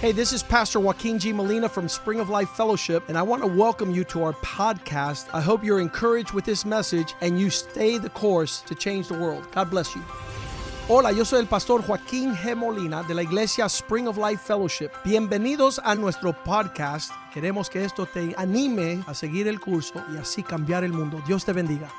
Hey, this is Pastor Joaquin G. Molina from Spring of Life Fellowship, and I want to welcome you to our podcast. I hope you're encouraged with this message and you stay the course to change the world. God bless you. Hola, yo soy el pastor Joaquín G. Molina de la iglesia Spring of Life Fellowship. Bienvenidos a nuestro podcast. Queremos que esto te anime a seguir el curso y así cambiar el mundo. Dios te bendiga.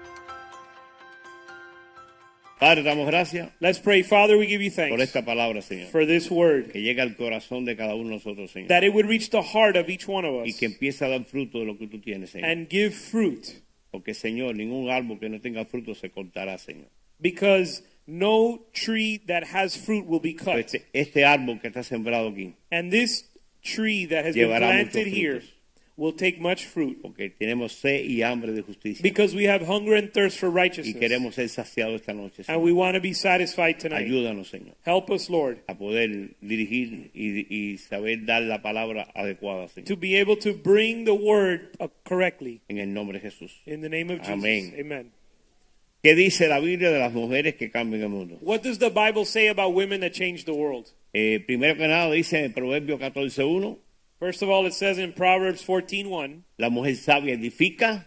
Padre, damos gracias. Let's pray. Father, we give you thanks por esta palabra, Señor. for this word, Que llegue al corazón de cada uno de nosotros, Señor. that it would reach the heart of each one of Y us que empiece a dar fruto de lo que tú tienes, Señor. and give fruit, Porque, Señor, ningún árbol que no tenga fruto se cortará, Señor. because no tree that has fruit will be cut. Este árbol que está sembrado aquí, And this tree that has been llevará muchos planted here frutos. will take much fruit, Porque tenemos sed y hambre de justicia. because we have hunger and thirst for Y righteousness, queremos ser saciados esta noche, and Señor. we want to be satisfied tonight. Ayúdanos, Señor, Help us, Lord, a poder dirigir y saber dar la palabra adecuada, Señor. to be able to bring the word correctly. En el nombre de Jesús. In the name of Jesus. Amén. Amen. ¿Qué dice la Biblia de las mujeres que cambian el mundo? What does the Bible say about women that change the world? Primero que nada dice en Proverbio 14:1, First of all, it says in Proverbs 14:1, la mujer sabia edifica,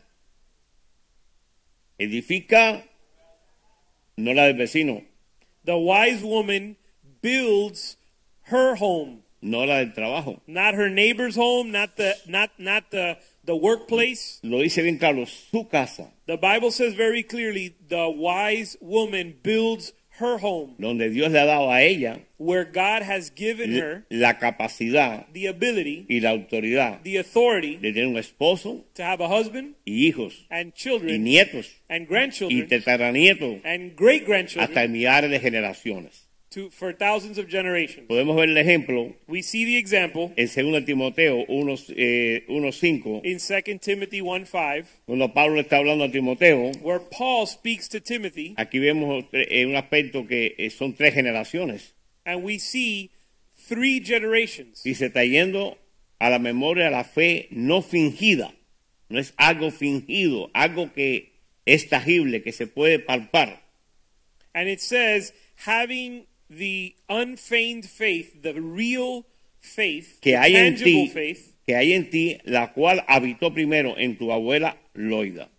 no la del vecino, the wise woman builds her home, no la del trabajo. not her neighbor's home, not the workplace. Lo dice bien claro, su casa, The Bible says very clearly, the wise woman builds her home, donde Dios le ha dado a ella where God has given her la capacidad the ability, y la autoridad the authority de tener un esposo to have a husband y hijos and y children nietos and y grandchildren tataranietos and great hasta grandchildren millares de generaciones. for thousands of generations. Podemos ver el ejemplo We see the example en 2 Timoteo 1:5, in 2 Timothy 1:5, cuando Pablo le está hablando a Timoteo. where Paul speaks to Timothy, Aquí vemos un aspecto que son 3 generaciones and we see 3 generations. y se está yendo a la memoria la fe no fingida. No es algo fingido, algo que es tangible, que se puede palpar. And it says, having the unfeigned faith, the real faith, Que the hay en tangible ti, faith, que hay en ti, la cual habitó primero en tu abuela Loida.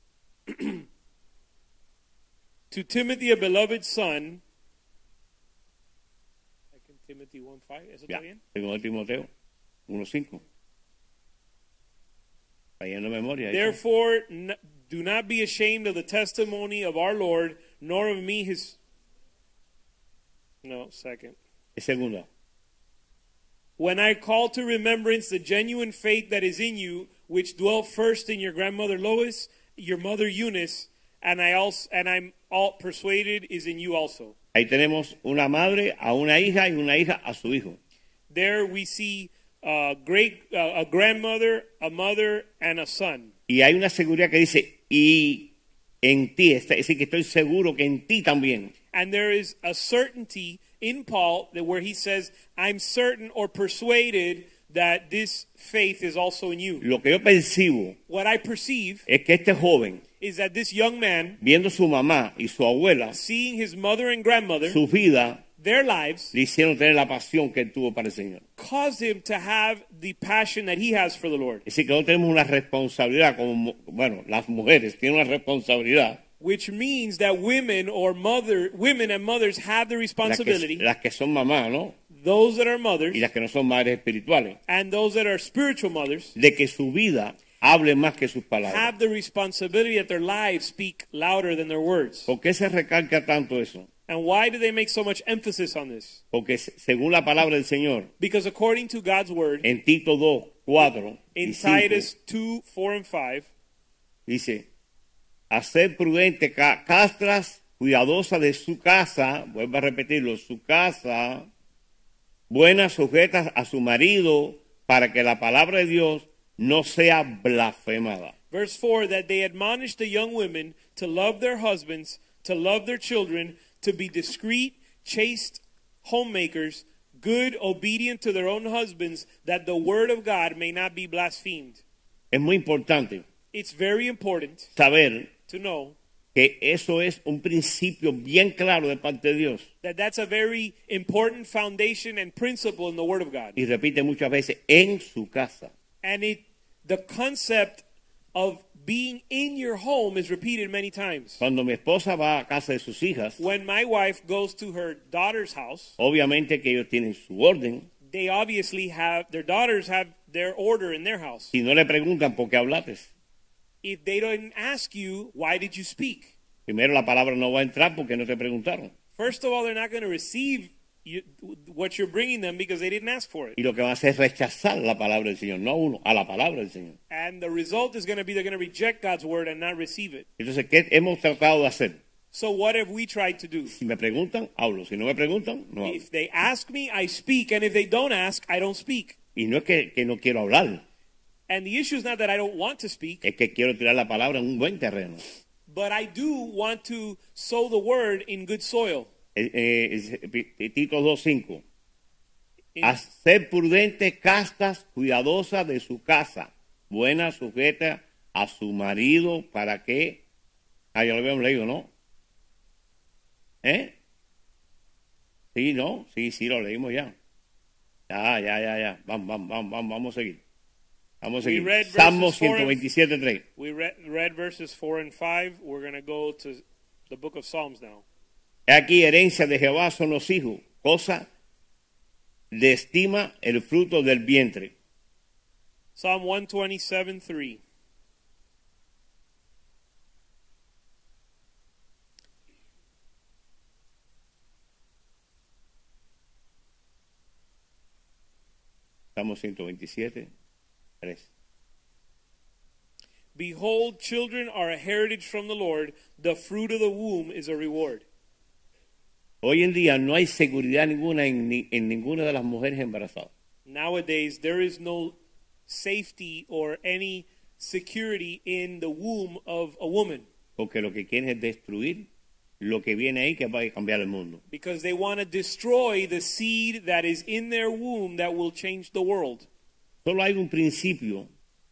to Timothy, a beloved son. 2 Timothy 1:5, ¿eso Ya, está bien? 2 Timoteo 1:5. Está yendo de memoria. eso. Therefore, do not be ashamed of the testimony of our Lord, nor of me his... No, second. Es segunda. When I call to remembrance the genuine faith that is in you, which dwelt first in your grandmother Lois, your mother Eunice, and I'm all persuaded is in you also. Ahí tenemos una madre a una hija y una hija a su hijo. There we see a grandmother, a mother, and a son. Y hay una seguridad que dice, y en ti, es decir, que estoy seguro que en ti también. And there is a certainty in Paul that where he says, I'm certain or persuaded that this faith is also in you. Lo que yo percibo What I perceive es que este joven, is that this young man, viendo su mamá y su abuela, seeing his mother and grandmother, su vida, their lives, le hicieron tener la pasión que él tuvo para el Señor. caused him to have the passion that he has for the Lord. Es decir, que nosotros tenemos una responsabilidad, como, bueno, las mujeres tienen una responsabilidad. Which means that women and mothers have the responsibility, Las que son mamás, ¿no? those that are mothers Y las que no son madres espirituales, and those that are spiritual mothers, de que su vida hable más que sus palabras. have the responsibility that their lives speak louder than their words. ¿Por qué se recalca tanto eso? And why do they make so much emphasis on this? Porque según la palabra del Señor, Because according to God's word, en Tito 2:4 y in 5, Titus 2:4 and 5, dice, hacer prudente, castras, cuidadosa de su casa, vuelvo a repetirlo, su casa, buenas, sujetas a su marido, para que la palabra de Dios no sea blasfemada. verse 4, that they admonish the young women to love their husbands, to love their children, to be discreet, chaste homemakers, good, obedient to their own husbands, that the word of God may not be blasphemed. Es muy importante It's very important saber to know que eso es un principio bien claro de parte de Dios. That's a very important foundation and principle in the Word of God. Y repite muchas veces, en su casa. And the concept of being in your home is repeated many times. Cuando mi esposa va a casa de sus hijas, When my wife goes to her daughter's house, obviamente que ellos tienen su orden. they obviously have, their daughters have their order in their house. Si no le preguntan por qué hablaste, If they don't ask you, why did you speak? primero la palabra no va a entrar porque no te preguntaron. First of all, they're not going to receive what you're bringing them because they didn't ask for it. Y lo que van a hacer es rechazar la palabra del Señor, no a uno, a la palabra del Señor. And the result is going to be they're going to reject God's word and not receive it. Entonces, ¿qué hemos tratado de hacer? So what have we tried to do? Si me preguntan, hablo. Si no me preguntan, no hablo. If they ask me, I speak. And if they don't ask, I don't speak. Y no es que no quiero hablar, And the issue is not that I don't want to speak, es que quiero tirar la palabra en un buen terreno. but I do want to sow the word in good soil. Tito 2:5. In- A ser prudente, castas, cuidadosa de su casa, buena, sujeta a su marido, para que... Ah, ya lo habíamos leído, ¿no? ¿Eh? Sí, ¿no? Sí, lo leímos ya. Ya. Vamos a seguir. Vamos a We seguir. read Salmo verses 4 and- 127:3. We read verses 4 and 5. We're going to go to the book of Psalms now. Aquí herencia de Jehová son los hijos, cosa de estima el fruto del vientre. Psalm 127:3. Salmo 127:3. Behold, children are a heritage from the Lord. The fruit of the womb is a reward. Hoy en día no hay seguridad ninguna en ninguna de las mujeres embarazadas. Nowadays, there is no safety or any security in the womb of a woman Porque lo que quieren es destruir lo que viene ahí que va a cambiar el mundo. because they want to destroy the seed that is in their womb that will change the world. Solo hay un principio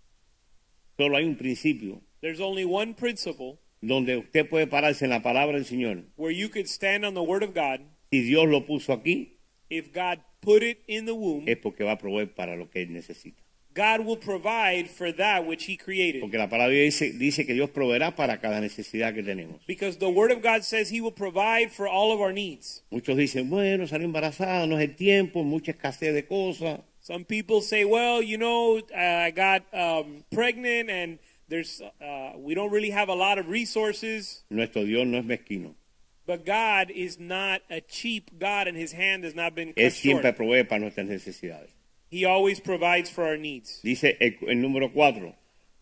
There's only one principle donde usted puede pararse en la palabra del Señor. where you could stand on the word of God. Si Dios lo puso aquí, If God put it in the womb, es porque va a proveer para lo que él necesita. God will provide for that which he created. Porque la palabra dice que Dios proveerá para cada necesidad que tenemos. Because the word of God says he will provide for all of our needs. Muchos dicen, bueno, salió embarazada, no es el tiempo, mucha escasez de cosas. Some people say, well, you know, I got pregnant and we don't really have a lot of resources. Nuestro Dios no es mezquino. But God is not a cheap God and his hand has not been Él cut siempre short. provee para nuestras necesidades. He always provides for our needs. Dice el número 4.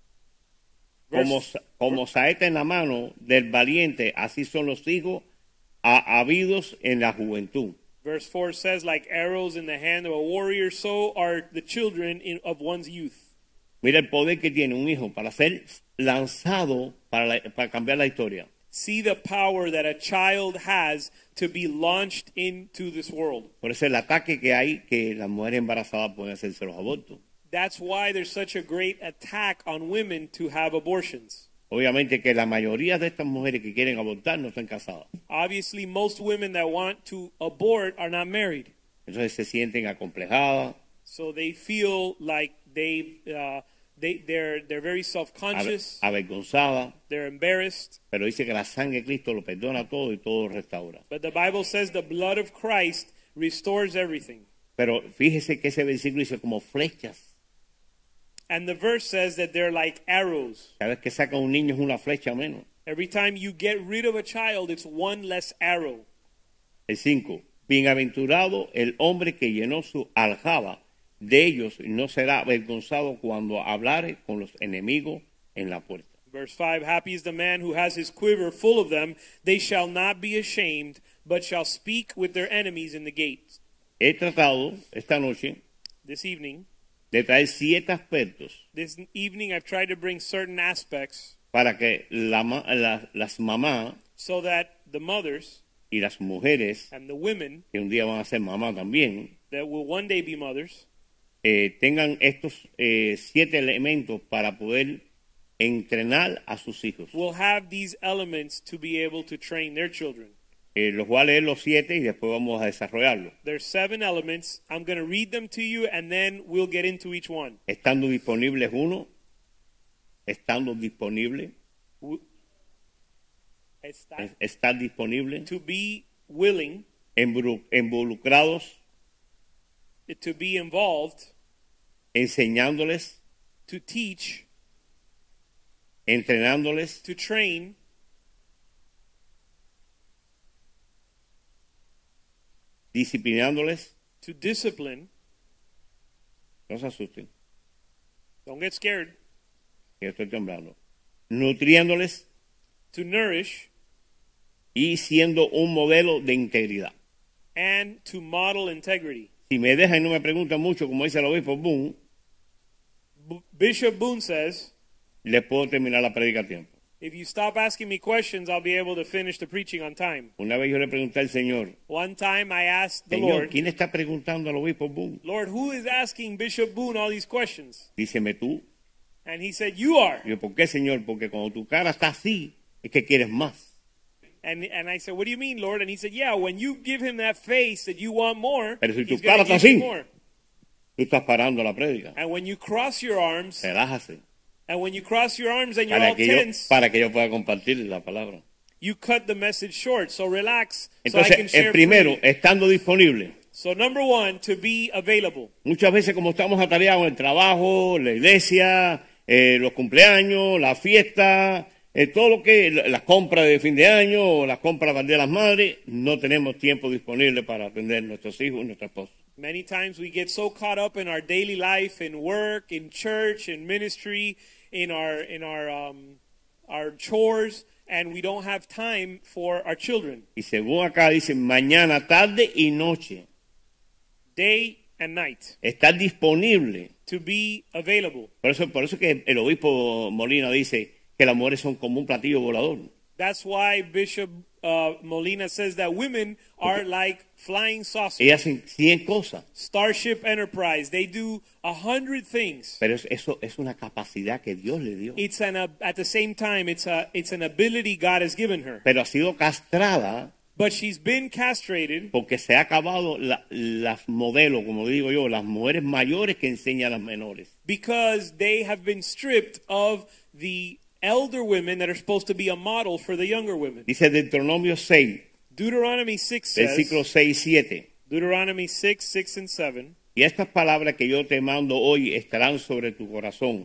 Como saeta en la mano del valiente, así son los hijos habidos en la juventud. Verse 4 says, like arrows in the hand of a warrior, so are the children of one's youth. Mira el poder que tiene un hijo para ser lanzado para cambiar la historia. See the power that a child has to be launched into this world. Por eso el ataque que hay, que las mujeres embarazadas pueden hacerse los abortos. That's why there's such a great attack on women to have abortions. Obviamente que la mayoría de estas mujeres que quieren abortar no están casadas. Obviously, most women that want to abort are not married. Entonces se sienten acomplejadas, So they feel like they're very self-conscious. avergonzadas, They're embarrassed. pero dice que la sangre de Cristo lo perdona todo y todo lo restaura. But the Bible says the blood of Christ restores everything. Pero fíjese que ese versículo dice como flechas. And the verse says that they're like arrows. Cada vez que saca un niño es una flecha menos. Every time you get rid of a child, it's one less arrow. El 5. Bienaventurado el hombre que llenó su aljaba de ellos y no será avergonzado cuando hablare con los enemigos en la puerta. Verse 5, happy is the man who has his quiver full of them. They shall not be ashamed, but shall speak with their enemies in the gates. He tratado esta noche This evening de traer 7 aspectos I've tried to bring certain aspects para que las mamás so that the mothers y las mujeres, and the women que un día van a ser mamás también, that will one day be mothers tengan estos 7 elementos para poder entrenar a sus hijos. will have these elements to be able to train their children. Los voy a leer los 7 y después vamos a desarrollarlo. There's 7 elements. I'm going to read them to you and then we'll get into each one. Estando disponible es uno. Estando disponible. Estar disponible. To be willing. Involucrados. To be involved. Enseñándoles. To teach. Entrenándoles. To train. Disciplinándoles. To discipline. No se asusten. Don't get scared. Yo estoy temblando. Nutriéndoles. To nourish. Y siendo un modelo de integridad. And to model integrity. Si me dejan y no me preguntan mucho, como dice el obispo Boone, Bishop Boone says, les puedo terminar la predica a tiempo. if you stop asking me questions, I'll be able to finish the preaching on time. Una vez yo le pregunté al Señor, One time I asked the Señor, Lord, ¿quién está preguntando al obispo Boone? Lord, who is asking Bishop Boone all these questions? Díceme tú. And he said, you are. Yo, ¿por qué, Señor? Porque cuando tu cara está así, es que quieres más. And I said, what do you mean, Lord? And he said, yeah, when you give him that face that you want more, Pero si tu he's going cara to está give you así, more. tú estás parando la prédica. And when you cross your arms, Relájase. and when you cross your arms and you're all tense, para que yo pueda compartir la palabra. you cut the message short. So relax, so I can Entonces, share el primero, freely. estando disponible. So number 1, to be available. Muchas veces como estamos atareados en el trabajo, la iglesia, los cumpleaños, la fiesta, todo lo que, las compras de fin de año o las compras para el Día de las Madres, no tenemos tiempo disponible para atender a nuestros hijos y nuestra esposa. Many times we get so caught up in our daily life, in work, in church, in ministry, in our chores, and we don't have time for our children. Y según acá dice, mañana, tarde y noche. Day and night. Estar disponible. To be available. Por eso que el obispo Molina dice que las mujeres son como un platillo volador. That's why Bishop Molina says that women are like flying saucers. Ellas hacen 100 cosas. Starship Enterprise, they do 100 things. Pero eso es una capacidad que Dios le dio. It's at the same time, it's an ability God has given her. Pero ha sido castrada. But she's been castrated. Porque se ha acabado las modelos, como digo yo, las mujeres mayores que enseñan a las menores. Because they have been stripped of the elder women that are supposed to be a model for the younger women. Dice Deuteronomio 6. Deuteronomy 6 says. Versículos 6 y 7. Deuteronomy 6, 6 and 7. Y estas palabras que yo te mando hoy estarán sobre tu corazón.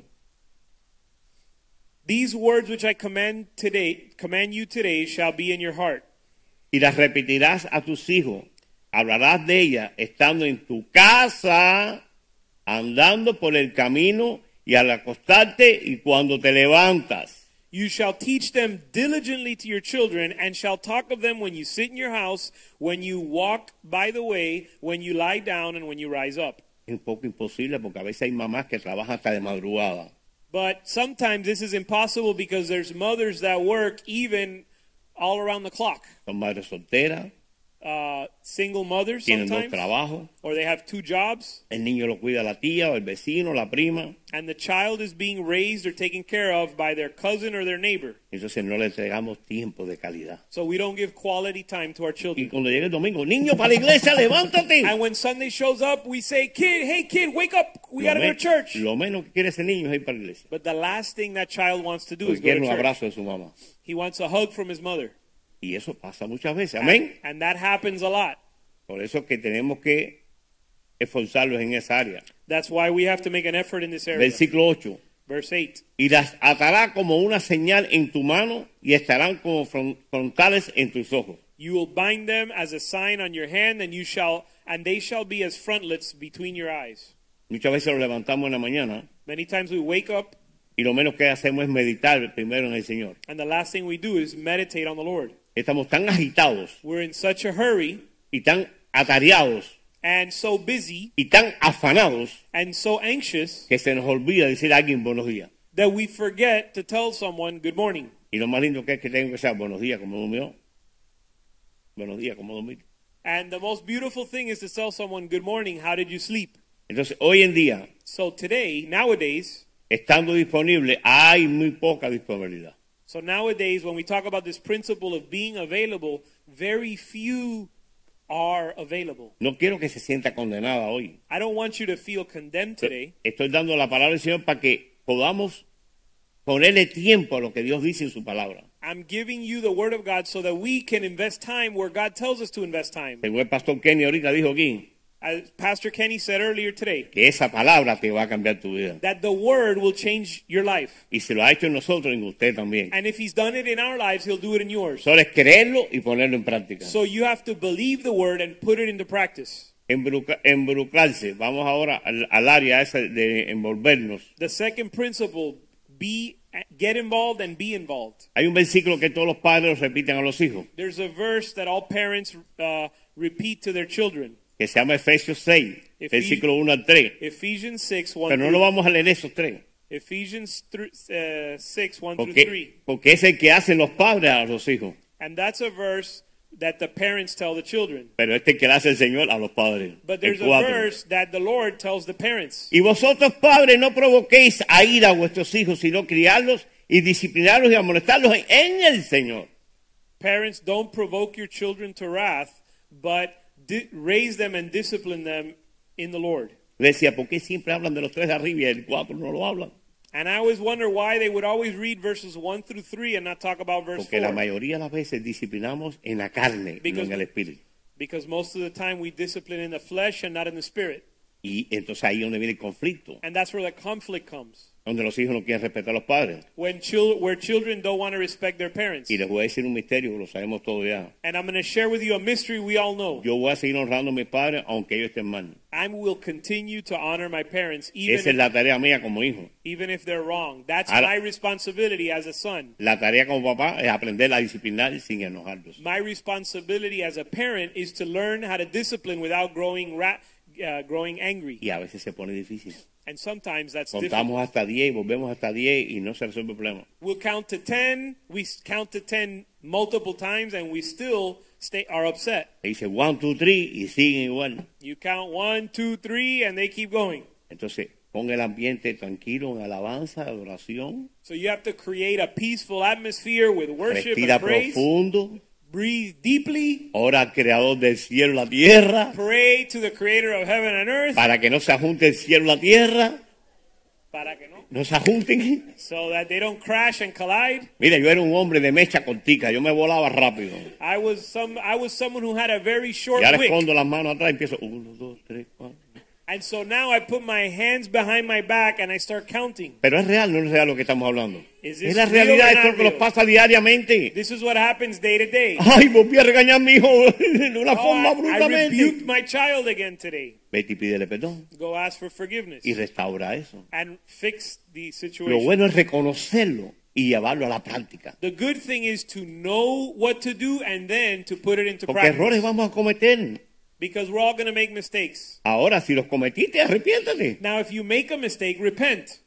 These words which I command you today shall be in your heart. Y las repetirás a tus hijos. Hablarás de ellas estando en tu casa, andando por el camino y al acostarte y cuando te levantas. You shall teach them diligently to your children, and shall talk of them when you sit in your house, when you walk by the way, when you lie down, and when you rise up. Es un poco imposible porque a veces hay mamás que trabajan hasta de madrugada. But sometimes this is impossible because there's mothers that work even all around the clock. Son madres solteras. Single mothers Tienen sometimes. 2 trabajos. Or they have 2 jobs. El niño lo cuida la tía o el vecino, la prima. And the child is being raised or taken care of by their cousin or their neighbor. Entonces no le entregamos tiempo de calidad. So we don't give quality time to our Y children. cuando llegue el domingo, niño para la iglesia, levántate. And when Sunday shows up, we say, hey kid, wake up. We got to go to church. Lo menos que quiere ese niño es ir para la iglesia. But the last thing that child wants to do Porque is go quiere to un church. abrazo de su mamá. He wants a hug from his mother. Y eso pasa muchas veces. Amén. And that happens a lot. Por eso es que tenemos que esforzarlos en esa área. That's why we have to make an effort in this area. Versículo 8. Verse 8. Y las atará como una señal en tu mano y estarán como frontales en tus ojos. You will bind them as a sign on your hand, and they shall be as frontlets between your eyes. Muchas veces nos levantamos en la mañana Many times we wake up, y lo menos que hacemos es meditar primero en el Señor. and the last thing we do is meditate on the Lord. Estamos tan agitados We're in such a hurry y tan atareados and so busy y tan afanados and so anxious que se nos olvida decir a alguien buenos días. that we forget to tell someone good morning. Y lo más lindo que es que tengo que ser buenos días, como durmió. Buenos días, como dormir. And the most beautiful thing is to tell someone good morning, how did you sleep? Entonces, hoy en día, So today, nowadays, estando disponible, hay muy poca disponibilidad. So nowadays, when we talk about this principle of being available, very few are available. No quiero que se sienta condenada hoy. I don't want you to feel condemned today. Estoy dando la palabra del Señor para que podamos ponerle tiempo a lo que Dios dice en su palabra. I'm giving you the word of God so that we can invest time where God tells us to invest time. Según el pastor Kenny ahorita dijo aquí, As Pastor Kenny said earlier today, que esa palabra te va a cambiar tu vida. that the word will change your life. Y si lo ha hecho en nosotros, en usted también. And if he's done it in our lives, he'll do it in yours. Solo es creerlo y ponerlo en práctica. So you have to believe the word and put it into practice. Involucrarse. Vamos ahora al área esa de envolvernos. The second principle, get involved and be involved. Hay un versículo que todos los padres repiten a los hijos, There's a verse that all parents repeat to their children. que se llama Efesios 6, versículo 1 al 3. Ephesians 6, 1 Pero no lo vamos a leer esos tres. Ephesians 6, 1 through 3. Porque es el que hacen los padres a los hijos. And that's a verse that the parents tell the children. Pero este es el que le hace el Señor a los padres. But El there's a 4. verse that the Lord tells the parents. Y vosotros padres no provoquéis a ira a vuestros hijos, sino criarlos y disciplinarlos y amonestarlos en el Señor. Parents, don't provoke your children to wrath, but raise them and discipline them in the Lord. Le decía, ¿por qué siempre hablan de los tres de arriba y el 4 no lo hablan? And I always wonder why they would always read verses 1 through 3 and not talk about verse Porque la 4. mayoría de las veces disciplinamos en la carne, no en el espíritu. Because most of the time we discipline in the flesh and not in the spirit. Y entonces ahí es donde viene el conflicto, And that's where the conflict comes. donde los hijos no quieren respetar a los padres. Where children don't want to respect their parents. Y les voy a decir un misterio, lo sabemos todo ya. And I'm going to share with you a mystery we all know. Yo voy a seguir honrando a mis padres aunque ellos estén mal. I will continue to honor my parents Esa es la tarea mía como hijo. even if they're wrong. That's Ahora, my responsibility as a son. La tarea como papá es aprender a disciplinar sin enojarlos. My responsibility as a parent is to learn how to discipline without growing angry. Y a veces se pone difícil. And sometimes that's Contamos difficult. hasta 10, volvemos hasta 10 y no se resuelve el problema. We'll count to 10. We count to 10 multiple times and we still are upset. Se dice 1, 2, 3 y siguen igual. You count 1, 2, 3 and they keep going. Entonces, ponga el ambiente tranquilo en alabanza, adoración. So you have to create a peaceful atmosphere with worship Respira and praise. profundo. Breathe deeply. Ora al creador del cielo y la tierra. Pray to the creator of heaven and earth. Para que no se junte el cielo y la tierra. Para que no. No se junten. So that they don't crash and collide. Mira, yo era un hombre de mecha cortica. Yo me volaba rápido. I was someone who had a very short Y ahora wick. escondo las manos atrás y empiezo 1, 2, 3, 4. And so now I put my hands behind my back and I start counting. Pero es real, no es real lo que estamos hablando. Is this Es la real realidad, or esto es not lo que nos real? pasa diariamente. This is what happens day to day. Ay, volví a regañar a mi hijo de una Oh, forma I brutamente. rebuked my child again today. Vete y pídele perdón Go ask for forgiveness y restaura eso. and fix the Lo situation. bueno es reconocerlo y llevarlo a la práctica. The good thing is to know what to do and then to put it into Porque errores practice. vamos a cometer. Because we're all going to make mistakes. Ahora, si los cometiste, arrepiéntate. Now, if you make a mistake, repent.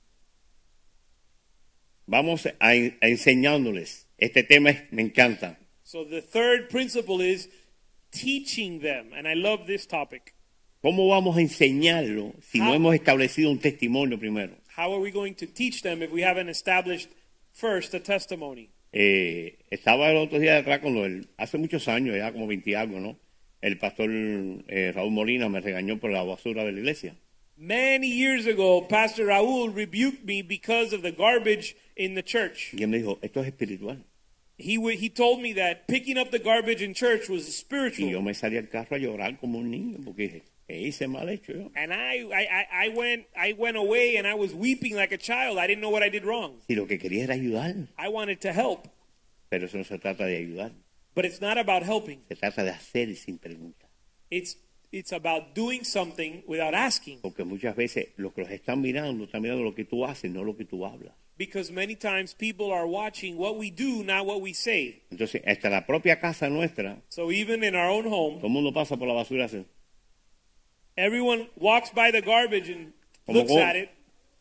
Vamos a enseñándoles. Este tema me encanta. So the third principle is teaching them. And I love this topic. ¿Cómo vamos a enseñarlo si no hemos establecido un testimonio primero? How are we going to teach them if we haven't established first a testimony? Estaba el otro día detrás con hace muchos años, ya como 20 y algo, ¿no? El pastor Raúl Molina me regañó por la basura de la iglesia. Many years ago, Pastor Raúl rebuked me because of the garbage in the church. Y él me dijo, esto es espiritual. He told me that picking up the garbage in church was Y yo spiritual. me salí al carro a llorar como un niño porque dije, ¿qué hice mal hecho yo? And I went away and I was weeping like a child. I didn't know what I did wrong. Si lo que quería era ayudar, I wanted to help, pero eso no se trata de ayudar, but it's not about helping. se trata de hacer sin preguntar. It's about doing something without asking. Porque muchas veces los que los están mirando lo que tú haces, no lo que tú hablas. Because many times people are watching what we do, not what we say. Entonces, hasta la propia casa nuestra, So even in our own home, todo el mundo pasa por la basura así. everyone walks by the garbage and Como looks con- at it,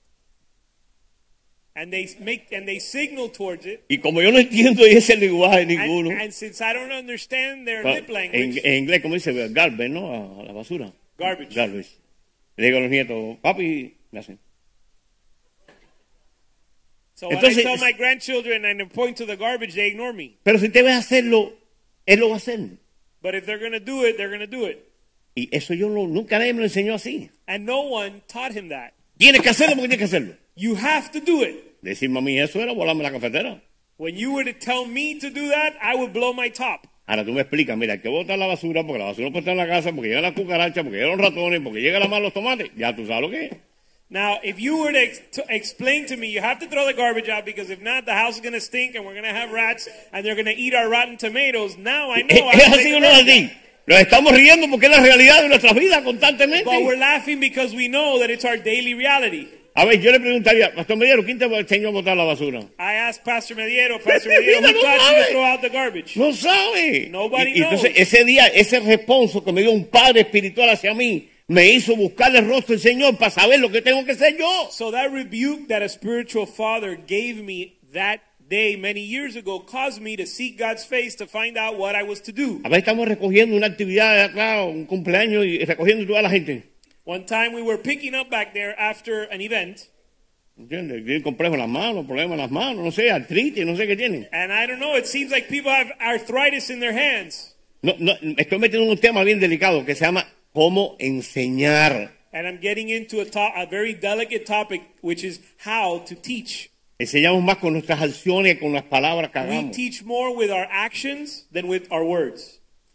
and they signal towards it. Y como yo no entiendo ese lenguaje ninguno, And since I don't understand their lip en, language, en inglés, como dice, garbage, ¿no? A la basura. Garbage. Garbage. Le digo a los nietos, papi, me hacen. So when I Entonces, tell my grandchildren and I point to the garbage, they ignore me. pero si te ves hacerlo, él lo va a hacer. But if they're going to do it, they're going to do it. Y eso nunca nadie me lo enseñó así. And no one taught him that. Tienes que hacerlo porque tienes que hacerlo. You have to do it. Decirme a mí eso era volarme la cafetera. When you were to tell me to do that, I would blow my top. Ahora tú me explicas, mira, hay que botar la basura porque la basura no puede estar en la casa, porque llegan las cucarachas, porque llegan los ratones, porque llegan las malas los tomates. Ya tú sabes lo que es. Now, if you were to explain to me, you have to throw the garbage out because if not, the house is going to stink and we're going to have rats and they're going to eat our rotten tomatoes. Now I know. I ¿Es have to así take o the no es garbage así? out. Nos estamos riendo porque es la realidad de nuestras vidas constantemente. But we're laughing because we know that it's our daily reality. A ver, yo le preguntaría, Pastor Mediero, ¿quién te enseñó a botar la basura? I asked Pastor Mediero, who taught you to throw out the garbage? No sabe. Nobody Y entonces knows. ese día, ese responso que me dio un padre espiritual hacia mí, me hizo buscarle el rostro del Señor para saber lo que tengo que hacer yo. So that rebuke that a spiritual father gave me that day many years ago caused me to seek God's face to find out what I was to do. A ver, estamos recogiendo una actividad acá, un cumpleaños, y recogiendo toda la gente. One time we were picking up back there after an event, ¿Entiendes? Tienen complejos en las manos, problemas en las manos, no sé, artritis, no sé qué tienen. and I don't know, it seems like people have arthritis in their hands. No, estoy metiendo en un tema bien delicado que se llama cómo enseñar. And I'm getting into a very delicate topic, which is how to teach. Enseñamos más con nuestras acciones que con las palabras que We hagamos. teach more with our actions than with our words.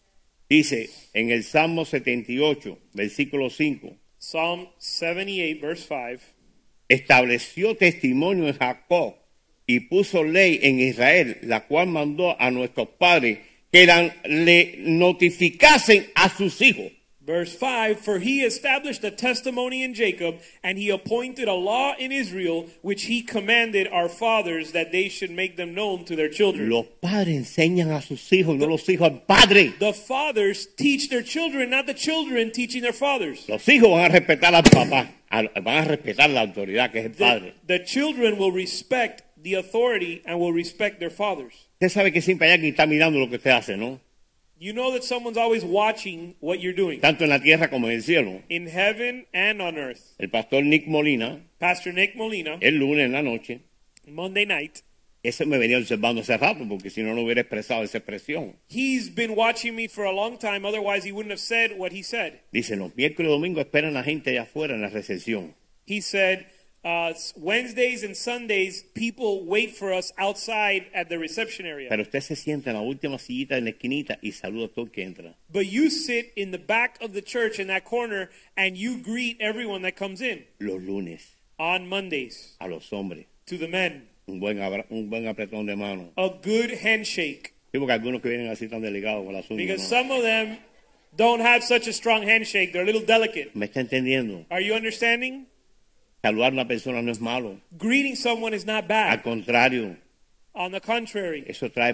Dice en el Salmo 78, versículo 5, Psalm 78, verse 5. estableció testimonio en Jacob y puso ley en Israel, la cual mandó a nuestros padres que le notificasen a sus hijos. Verse 5, for he established a testimony in Jacob, and he appointed a law in Israel, which he commanded our fathers that they should make them known to their children. Los padres enseñan a sus hijos, no los hijos al padre. The fathers teach their children, not the children teaching their fathers. Los hijos van a respetar al papá, van a respetar la autoridad que es el padre. The children will respect the authority and will respect their fathers. Usted sabe que siempre hay alguien que está mirando lo que usted hace, ¿no? You know that someone's always watching what you're doing, Tanto en la tierra como en el cielo. in heaven and on earth. El pastor Nick Molina, Pastor Nick Molina, el lunes en la noche, Monday night, ese me venía observando hace rato, porque si no, no hubiera expresado esa expresión. he's been watching me for a long time, otherwise he wouldn't have said what he said. Dice, los miércoles y domingos esperan a la gente allá afuera en la recepción. He said, Wednesdays and Sundays, people wait for us outside at the reception area. Pero usted se sienta en la última sillita en la esquinita y saluda a todo el que entra. But you sit in the back of the church in that corner and you greet everyone that comes in. Los lunes, On Mondays, a los hombres, to the men, un buen apretón de mano. a good handshake. Sí, porque algunos que vienen así tan delicados con las uñas, Because ¿no? some of them don't have such a strong handshake. They're a little delicate. ¿Me está entendiendo? Are you understanding? Saludar a una persona no es malo. Greeting someone is not Al bad. contrario, On the contrary, eso trae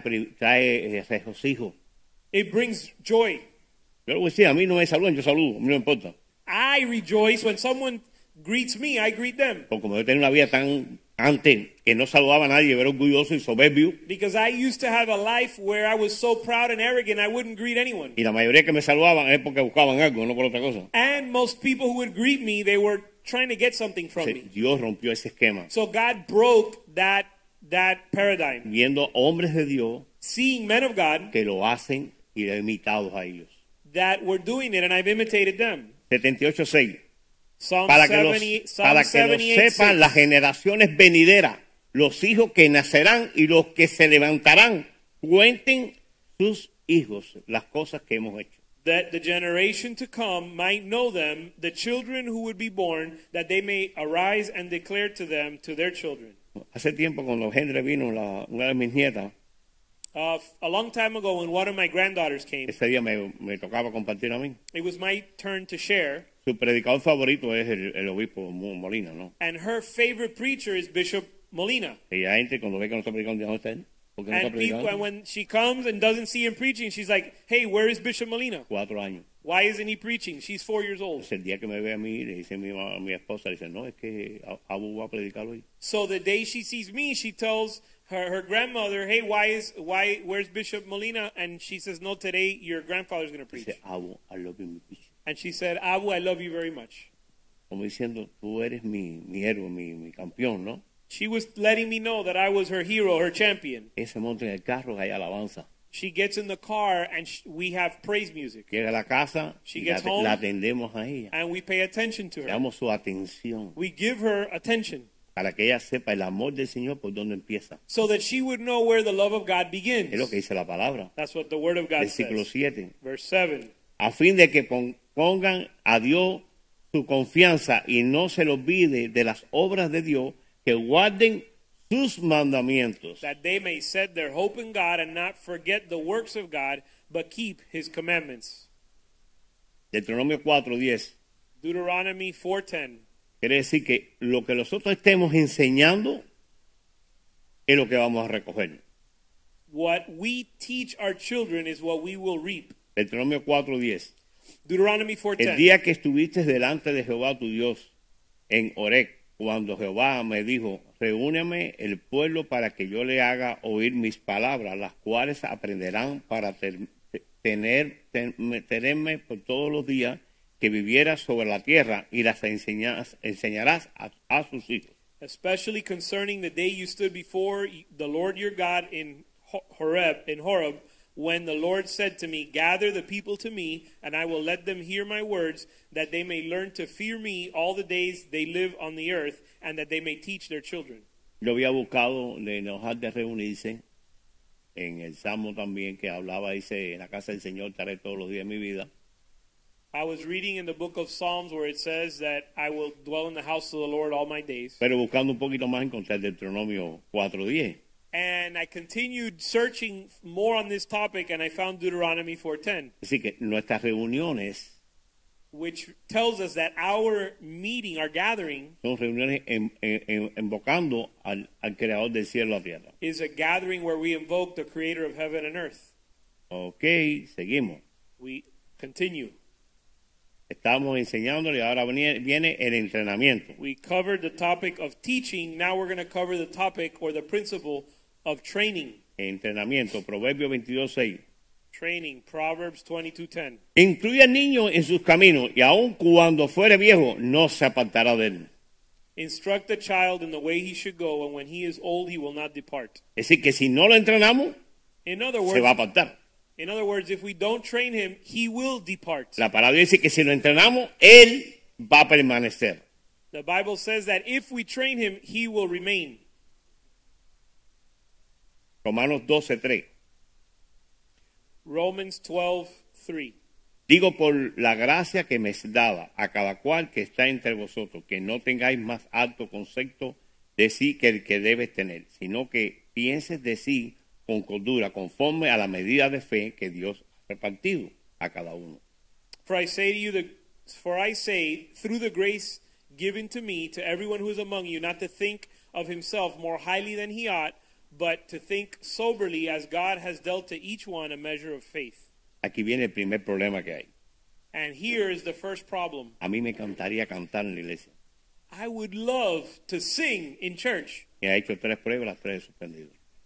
regocijo. it brings joy. Yo le voy a decir, a mí no me saludan, yo saludo, a mí no me importa. I rejoice when someone greets me, I greet them. Porque como yo tenía una vida tan antes que no saludaba a nadie, era orgulloso y soberbio, Because I used to have a life where I was so proud and arrogant, I wouldn't greet anyone. y la mayoría que me saludaban es porque buscaban algo, no por otra cosa. And most people who would greet me, they were trying to get something from me. Dios rompió ese esquema. So God broke that paradigm. Viendo hombres de Dios Seeing men of God que lo hacen y he imitado a ellos. that were doing it, and I've imitated them. 78:6. Psalm Para que lo 78, sepan 6. las generaciones venideras, los hijos que nacerán y los que se levantarán, cuenten sus hijos las cosas que hemos hecho. That the generation to come might know them, the children who would be born, that they may arise and declare to them, to their children. Hace tiempo cuando Henry vino, una de mis nietas, A long time ago when one of my granddaughters came, ese día me tocaba compartir a mí. it was my turn to share, Su predicador favorito es el obispo Molina, ¿no? and her favorite preacher is Bishop Molina. Y la gente cuando ve que no está predicando, ¿dónde está él? ¿Por qué no está And people, and predicando? when she comes and doesn't see him preaching, she's like, hey, where is Bishop Molina? 4 años. Why isn't he preaching? She's 4 years old. Entonces, el día que me ve a mí, le dice mi esposa, le dice, no, es que Abu va a predicar hoy. So the day she sees me, she tells her grandmother, hey, where's Bishop Molina? And she says, no, today your grandfather's going to preach. Dice, Abu, I love you, mi bishop. And she said, Abu, I love you very much. Como diciendo, tú eres mi héroe, mi campeón, ¿no? She was letting me know that I was her hero, her champion. Ella se monta en el carro, hay alabanza. She gets in the car and we have praise music. Llega a la casa, She y gets home. la atendemos a ella. And we pay attention to Le her. damos su atención We give her attention para que ella sepa el amor del Señor por dónde empieza. so that she would know where the love of God begins. Es lo que dice la palabra. That's what the Word of God Versículo says. 7. Verse 7. A fin de que pongan a Dios su confianza y no se le olvide de las obras de Dios, que guarden sus mandamientos. That they may set their hope in God and not forget the works of God, but keep His commandments. Deuteronomio 4:10. Deuteronomy 4:10. Quiere decir que lo que nosotros estemos enseñando es lo que vamos a recoger. What we teach our children is what we will reap. Deuteronomio 4:10. Deuteronomy El 4:10. día que estuviste delante de Jehová tu Dios en Horeb, cuando Jehová me dijo, reúneme el pueblo para que yo le haga oír mis palabras, las cuales aprenderán para tenerme por todos los días que vivieras sobre la tierra, y las enseñarás a sus hijos. Especially concerning the day you stood before the Lord your God in Horeb, when the Lord said to me, gather the people to me, and I will let them hear my words, that they may learn to fear me all the days they live on the earth, and that they may teach their children. Yo había buscado de enojar de reunirse en el Salmo también, que hablaba, dice, en la casa del Señor estaré todos los días de mi vida. I was reading in the book of Psalms where it says that I will dwell in the house of the Lord all my days. Pero buscando un poquito más encontré Deuteronomio 4:10. And I continued searching more on this topic, and I found Deuteronomy 4:10, Así que nuestras reuniones which tells us that our meeting, our gathering, son reuniones invocando al creador del cielo y la tierra. is a gathering where we invoke the creator of heaven and earth. Ok, seguimos. We continue. Estamos enseñándole y ahora viene el entrenamiento. We covered the topic of teaching. Now we're going to cover the topic or the principle of training. Entrenamiento, Proverbios 22:6. Training, Proverbs 22:10. Instruye al niño en sus caminos, y aun cuando fuere viejo, no se apartará de él. Instruct the child in the way he should go, and when he is old, he will not depart. Es decir, que si no lo entrenamos, In other se va a words, apartar. if we don't train him, he will depart. La palabra dice que si lo entrenamos, él va a permanecer. The Bible says that if we train him, he will remain. Romanos 12:3. Romans 12:3. Digo por la gracia que me es dada a cada cual que está entre vosotros, que no tengáis más alto concepto de sí que el que debes tener, sino que pienses de sí con cordura, conforme a la medida de fe que Dios ha repartido a cada uno. For I say, through the grace given to me, to everyone who is among you, not to think of himself more highly than he ought, but to think soberly, as God has dealt to each one a measure of faith. Aquí viene el primer problema que hay. And here is the first problem. A mí me encantaría cantar en la iglesia. I would love to sing in church. Me ha hecho 3 pruebas, las 3 he suspendido.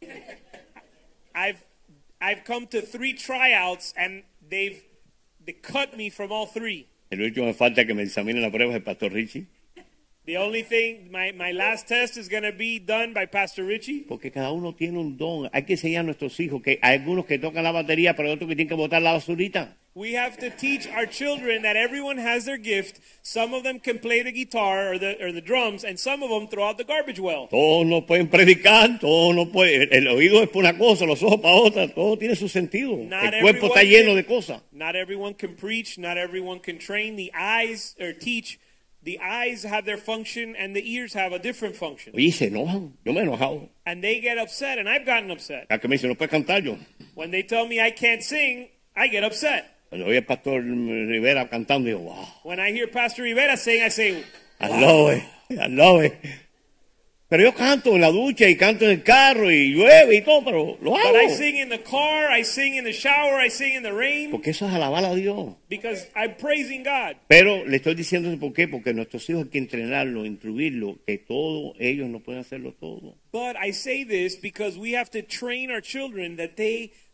I've come to 3 tryouts, and they cut me from all 3. El último me falta que me examine la prueba es el pastor Richie. The only thing, my last test is going to be done by Pastor Richie. Porque cada uno tiene un don. Hay que enseñar a nuestros hijos que hay algunos que tocan la batería, pero hay otros que tienen que botar la basurita. We have to teach our children that everyone has their gift. Some of them can play the guitar or the drums, and some of them throw out the garbage well. Todos no pueden predicar, todos no pueden. El oído es para una cosa, los ojos para otra. Todo tiene su sentido. El cuerpo está lleno de cosas. Not everyone can preach. Not everyone can train. The eyes or teach. The eyes have their function, and the ears have a different function. Oye, se enojan. Yo me he enojado. And they get upset, and I've gotten upset. A que me dicen, no puedes cantar yo. When they tell me I can't sing, I get upset. Cuando oye al pastor Rivera cantando, digo, wow. When I hear Pastor Rivera sing, I say, I love it. I love it. Pero yo canto en la ducha y canto en el carro y llueve y todo, pero lo hago. But I sing in the car, I sing in the shower, I sing in the rain. Porque eso es alabar a Dios. Because I'm praising God. Pero le estoy diciendo por qué, porque nuestros hijos hay que entrenarlos, instruirlos, que todos ellos no pueden hacerlo todo. But I say this because we have to train our children that they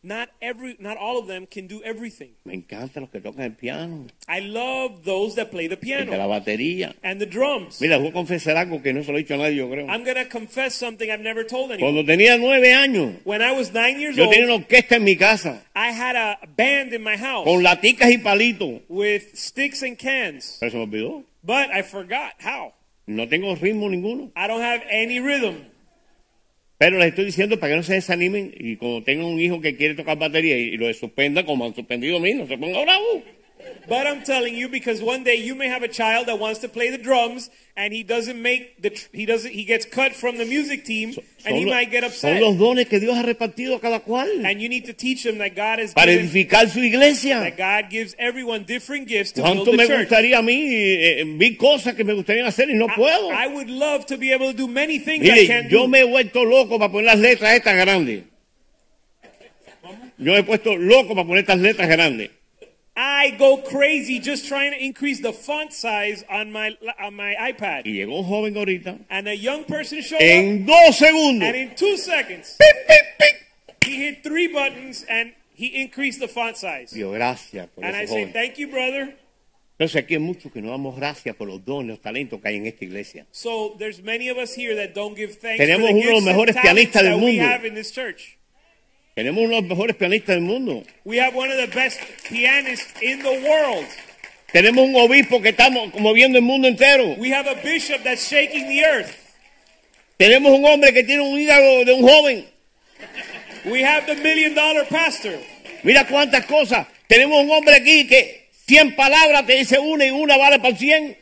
not all of them can do everything. Me encantan los que tocan el piano, I love those that play the el de la piano batería. and the drums. Mira, voy a confesar algo que no se lo he dicho a nadie, yo creo. I'm going to confess something I've never told anyone. Cuando tenía 9 años, When I was 9 years yo old, tenía una orquesta en mi casa, I had a band in my house con laticas y palitos. with sticks and cans, Pero se me olvidó. but I forgot how. No tengo ritmo ninguno. I don't have any rhythm. Pero les estoy diciendo para que no se desanimen y cuando tengan un hijo que quiere tocar batería y lo suspenda como han suspendido a mí, no se ponga bravo. But I'm telling you, because one day you may have a child that wants to play the drums and he doesn't make he gets cut from the music team and he might get Son upset. los dones que Dios ha repartido a cada cual And you need to teach them that God has para given, edificar su iglesia. that God gives everyone different gifts to build ¿Cuánto the me church. gustaría a mí? Vi cosas que me gustaría hacer y no puedo. I would love to be able to do many things I Mire, can't yo do. me he vuelto loco para poner las letras estas grandes. Yo me he puesto loco para poner estas letras grandes. I go crazy just trying to increase the font size on my iPad. Y llegó un joven ahorita, And a young person showed up, en 2 segundos, and in 2 seconds, ¡pip, pip, pip! he hit 3 buttons and he increased the font size. Dios, gracias por And I ese say, joven. thank you, brother. Entonces aquí hay muchos que no damos gracias por los dones, los talentos que hay en esta iglesia. So there's many of us here that don't give thanks Tenemos for the uno de los gifts and mejores talents pianistas del that we mundo. have in this church. Tenemos uno de los mejores pianistas del mundo. We have one of the best pianists in the world. Tenemos un obispo que estamos moviendo el mundo entero. We have a bishop that's shaking the earth. Tenemos un hombre que tiene un hígado de un joven. We have the $1 million pastor. Mira cuántas cosas. Tenemos un hombre aquí que 100 palabras te dice una y una vale para 100.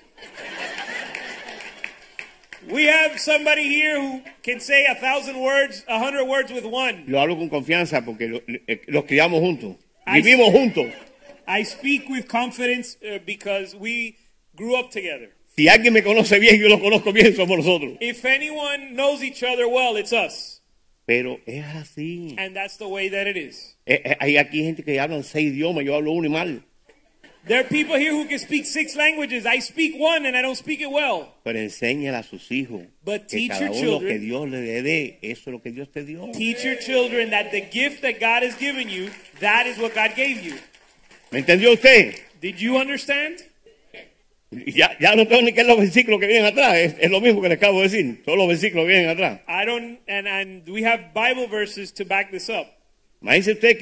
We have somebody here who can say 1,000 words, 100 words with one. Lo hablo con confianza porque los criamos juntos. Vivimos juntos. I speak with confidence because we grew up together. Si alguien me conoce bien, yo lo conozco bien, somos nosotros. If anyone knows each other well, it's us. Pero es así. And that's the way that it is. Hay aquí gente que hablan 6 idiomas, yo hablo uno y mal. There are people here who can speak 6 languages. I speak one and I don't speak it well. Pero enséñale a sus hijos But que teach cada your uno que children. Dios le dé, eso es lo que Dios te dio. Teach your children that the gift that God has given you, that is what God gave you. ¿Me entendió usted? Did you understand? Ya no tengo ni qué es los versículos que vienen atrás. Es lo mismo que le acabo de decir. Son los versículos que vienen atrás. I don't, and we have Bible verses to back this up. Imagínese usted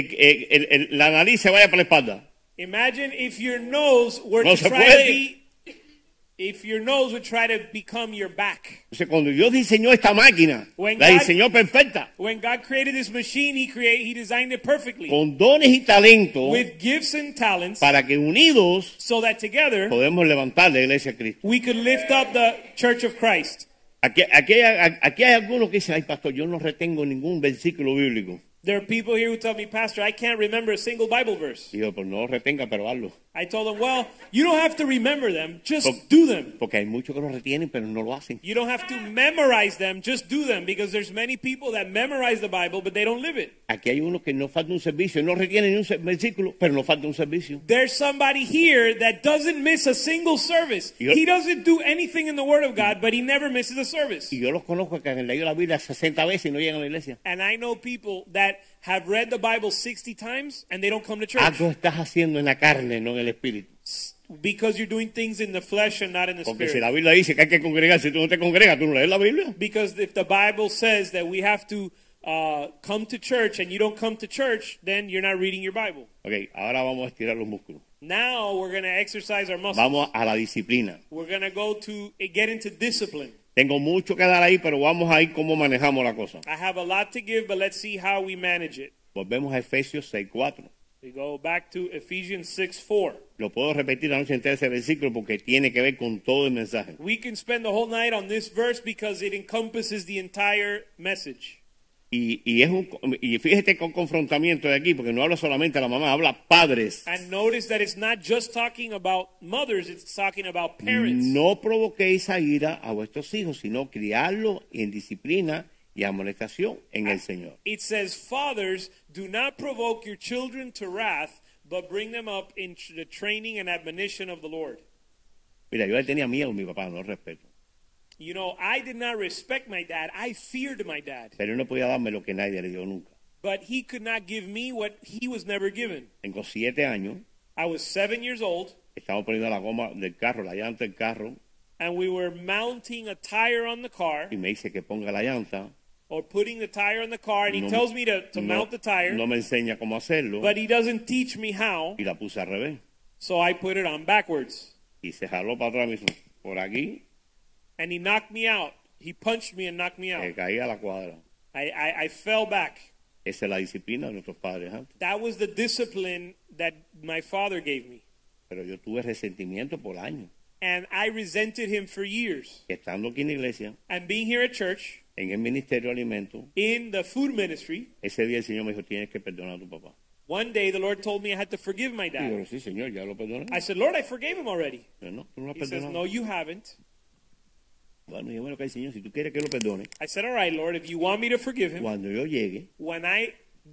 que la nariz se vaya para la espalda. Imagine if your nose were No to se try puede. to be, if your nose would try to become your back. Entonces, cuando Dios diseñó esta máquina, When la God- diseñó perfecta, When God created this machine, He designed it perfectly con dones y talentos, with gifts and talents, para que unidos so that together podemos levantar la iglesia de Cristo. we could lift up the Church of Christ. Aquí hay algunos que dicen, ay pastor, yo no retengo ningún versículo bíblico. There are people here who tell me, Pastor, I can't remember a single Bible verse. Y yo, pues no lo retenga, pero hazlo. I told them, well, you don't have to remember them, just do them. Porque hay muchos que lo retienen, pero no lo hacen. You don't have to memorize them, just do them, because there's many people that memorize the Bible, but they don't live it. Aquí hay unos que no falta un servicio, no retienen ni un versículo, pero no falta un servicio. There's somebody here that doesn't miss a single service. Yo- He doesn't do anything in the Word of God, but he never misses a service. Y yo los conozco que han leído la Biblia 60 veces y no llegan a la iglesia. And I know people that have read the Bible 60 times and they don't come to church Algo estás haciendo en la carne, no en el espíritu. because you're doing things in the flesh and not in the Porque si spirit. la Biblia dice que hay que congregar, si tú no te congregas, tú no lees la Biblia. Because if the Bible says that we have to come to church and you don't come to church, then you're not reading your Bible. Ok, ahora vamos a estirar los músculos. Now we're going to exercise our muscles. Vamos a la disciplina. We're going to go to get into discipline. Tengo mucho que dar ahí, pero vamos a ir cómo manejamos la cosa. I have a lot to give, but let's see how we manage it. Volvemos a Efesios 6:4. We go back to Ephesians 6:4. Lo puedo repetir la noche entera ese versículo porque tiene que ver con todo el mensaje. We can spend the whole night on this verse because it encompasses the entire message. Y fíjate con confrontamiento de aquí, porque no habla solamente a la mamá, habla padres. And notice that it's not just talking about mothers, it's talking about parents. No provoquéis a ira a vuestros hijos, sino criarlos en disciplina y amonestación en el Señor. It says, fathers, do not provoke your children to wrath, but bring them up in the training and admonition of the Lord. Mira, yo le tenía miedo a mi papá, no respeto. You know, I did not respect my dad. I feared my dad. Pero él no podía darme lo que nadie le dio nunca. but he could not give me what he was never given. Tengo 7 años. I was 7 years old, Estamos poniendo la goma del carro, la llanta del carro, and we were mounting a tire on the car, y me dice que ponga la llanta. or putting the tire on the car, and he No- tells me to mount the tire, No me enseña cómo hacerlo, but he doesn't teach me how, y la puse al revés. so I put it on backwards. Y se jaló para atrás, me hizo por aquí, And he knocked me out. He punched me and knocked me out. que caí a la cuadra. I fell back. Esa es la disciplina de nuestros padres antes. That was the discipline that my father gave me. Pero yo tuve resentimiento por años. And I resented him for years. Estando aquí en la iglesia, And being here at church, en el ministerio de alimentos, in the food ministry, ese día el Señor me dijo, tienes que perdonar a tu papá. one day the Lord told me I had to forgive my Y yo, dad. sí, Señor, ya lo perdoné. I said, Lord, I forgave him already. Pero no, tú no lo has He says, perdonado. no, you haven't. Bueno, yo, bueno, que Señor, si tú quieres que lo perdone, I said, all right, Lord, if you want me to forgive him, cuando yo llegue, when I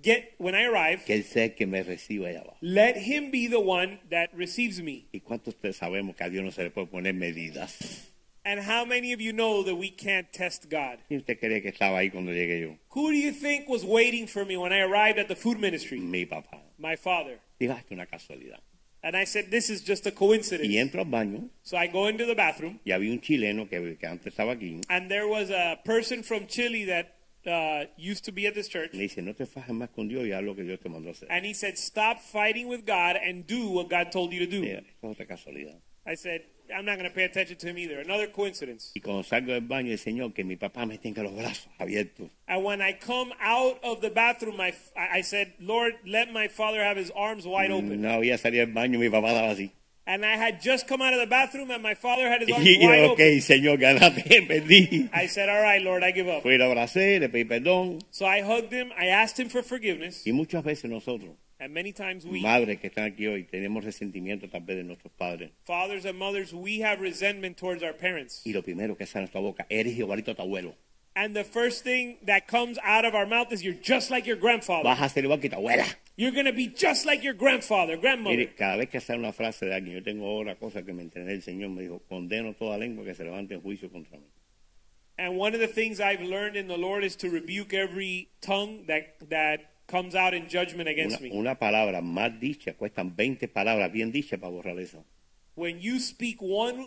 arrive, que Él sea el que me reciba allá abajo. let him be the one that receives me. ¿Y cuántos de ustedes sabemos que a Dios no se le puede poner medidas? And how many of you know that we can't test God? ¿Quién usted cree que estaba ahí cuando llegué yo? Who do you think was waiting for me when I arrived at the food ministry? Mi papá. My father. Diga, esto es una casualidad. And I said, this is just a Y coincidence. entro al baño So I go into the bathroom, y había un chileno que antes estaba aquí. and there was a person from Chile that used to be at this church. Me dice, no te fajes más con Dios y haz lo que Dios te mandó a hacer. And he said, stop fighting with God and do what God told you to do. Mira, esto es otra casualidad. I said, I'm not going to pay attention to him either. Another coincidence. Y cuando salgo del baño, el Señor, que mi papá me tenga los brazos abiertos. And when I come out of the bathroom, I said, Lord, let my father have his arms wide open. No había salido del baño, mi papá estaba así. And I had just come out of the bathroom, and my father had his arms Y wide yo, ok, open. Señor, ganaste, perdí. I said, all right, Lord, I give up. Fui, lo abracé, le pedí perdón. So I hugged him. I asked him for forgiveness. Y muchas veces nosotros, And many times we, madres que están aquí hoy, tenemos resentimiento tal vez de nuestros padres. fathers and mothers, we have resentment towards our parents. Y lo primero que sale de nuestra boca, eres igualito a tu abuelo. And the first thing that comes out of our mouth is, you're just like your grandfather. Vas a ser igual que tu abuela. You're going to be just like your grandfather, grandmother. Mire, cada vez que sale una frase de alguien, yo tengo otra cosa que me entendé el Señor, me dijo, condeno toda lengua que se levante en juicio contra mí. And one of the things I've learned in the Lord is to rebuke every tongue that comes out in judgment against me. Una palabra mal dicha, cuestan 20 palabras bien dichas para borrar eso. When you speak one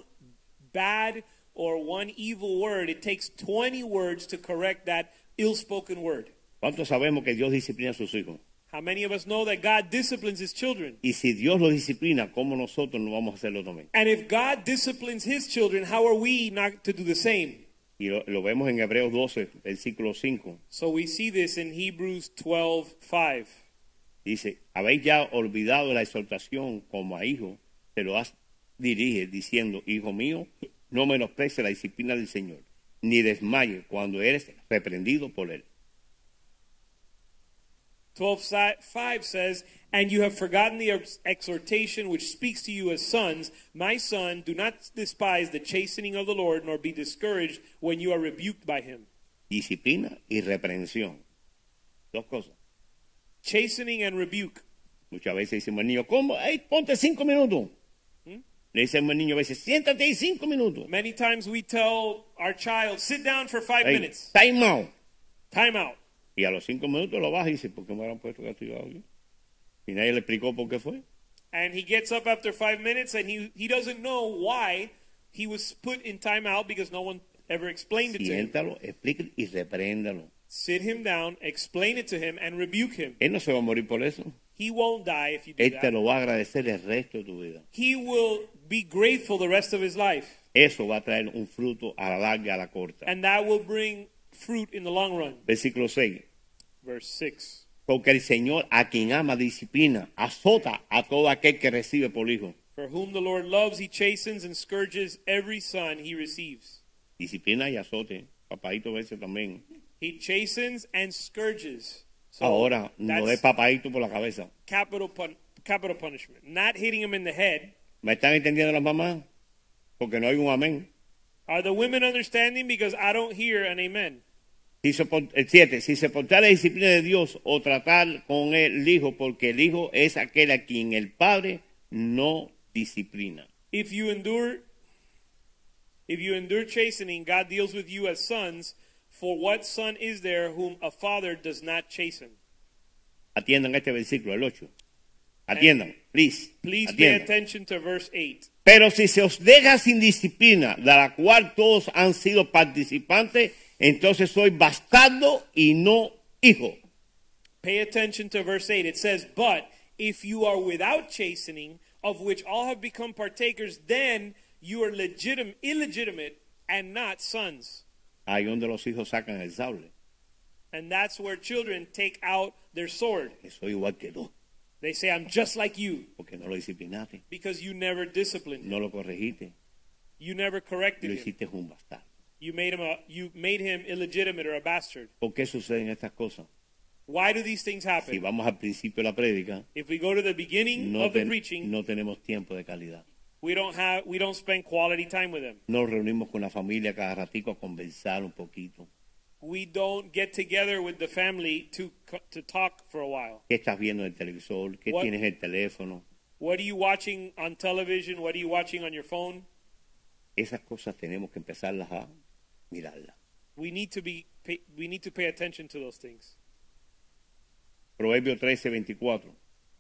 bad or one evil word, it takes 20 words to correct that ill-spoken word. ¿Cuántos sabemos que Dios disciplina a sus hijos? How many of us know that God disciplines his children? Y si Dios lo disciplina, ¿cómo nosotros no vamos a hacerlo también? And if God disciplines his children, how are we not to do the same? Y lo vemos en Hebreos 12, versículo 5. So we see this in Hebrews 12:5. Dice, habéis ya olvidado la exhortación como a hijo, te lo has dirige diciendo, hijo mío, no menosprecies la disciplina del Señor, ni desmayes cuando eres reprendido por él. 12:5 says, and you have forgotten the exhortation which speaks to you as sons. My son, do not despise the chastening of the Lord, nor be discouraged when you are rebuked by him. Disciplina y reprensión. Dos cosas. Chastening and rebuke. Muchas veces decimos al niño, ¿cómo? Hey, ponte 5 minutos. Le decimos al niño a veces, siéntate ahí 5 minutos. Many times we tell our child, sit down for 5 Hey, minutes. time out. Time out. Y a los 5 minutos lo baja y dice, ¿por qué me habrán puesto castigado aquí? Y nadie le explicó por qué fue. And he gets up after 5 minutes, and he doesn't know why he was put in timeout, because no one ever explained it to him. Siéntalo, explícalo y repréndalo. Sit him down, explain it to him, and rebuke him. Él no se va a morir por eso. He won't die if you do Él te that. lo va a agradecer el resto de tu vida. He will be grateful the rest of his life. Eso va a traer un fruto a la larga, a la corta. And that will bring fruit in the long run. Versículo 6. Verse 6. Porque el Señor a quien ama disciplina, azota a todo aquel que recibe por hijo. For whom the Lord loves, he chastens and scourges every son he receives. Disciplina y azote. Papadito a veces también. He chastens and scourges. So Ahora, no de that's papadito por la cabeza. capital punishment. Not hitting him in the head. ¿Me están entendiendo las mamás? Porque no hay un amén. Are the women understanding? Because I don't hear an amen. El 7. Si soportar la disciplina de Dios o tratar con el hijo, porque el hijo es aquel a quien el padre no disciplina. If you endure chastening, God deals with you as sons. For what son is there whom a father does not chasten? Atiendan este versículo, el 8. Atiendan, please. Please pay Atiendan. attention to verse 8. Pero si se os deja sin disciplina, de la cual todos han sido participantes, entonces soy bastardo y no hijo. Pay attention to verse 8. It says, but if you are without chastening, of which all have become partakers, then you are illegitimate and not sons. Ahí donde los hijos sacan el sable. And that's where children take out their sword. Que soy igual que tú, They say, I'm just like you, porque no lo disciplinaste, because you never disciplined him. no lo corregiste, You never y corrected lo him. hiciste un bastardo. You made him illegitimate or a bastard. ¿Por qué suceden estas cosas? Why do these things Si happen? vamos al principio de la prédica, If we go to the beginning no, of the preaching, no tenemos tiempo de calidad. we don't spend quality time with them. Nos reunimos con la familia cada ratico a conversar un poquito. We don't get together with the family to talk for a while. ¿Qué estás viendo en el televisor? ¿Qué What- tienes en el teléfono? What are you watching on television? What are you watching on your phone? Esas cosas tenemos que empezarlas a mirarlas. We need to pay attention to those things. Proverbio 13:24.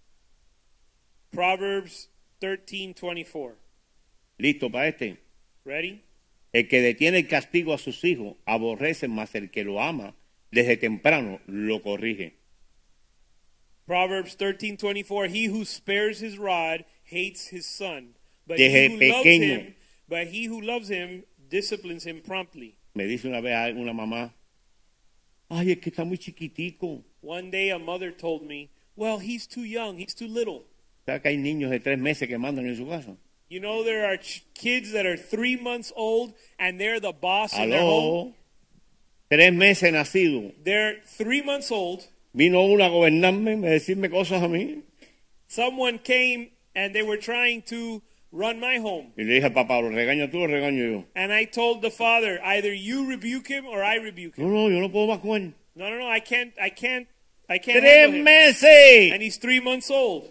Proverbs 13:24. ¿Listo para este? Ready? El que detiene el castigo a sus hijos aborrece, más el que lo ama desde temprano lo corrige. Proverbs 13:24. He who spares his rod hates his son, but Desde pequeño. he who loves him disciplines him promptly. Me dice una vez una mamá, ay, es que está muy chiquitico. One day a mother told me, well, he's too young, he's too little. ¿Sabes que hay niños de 3 meses que mandan en su casa? You know, there are kids that are 3 months old and they're the boss in their home. Aló, 3 meses nacido. They're 3 months old. Vino uno a gobernarme, a decirme cosas a mí. Someone came and they were trying to run my home. Y le dije al papá, ¿lo regaño tú o lo regaño yo? And I told the father, either you rebuke him or I rebuke him. No, yo no puedo más con él. No, I can't 3 handle him. meses. And he's 3 months old.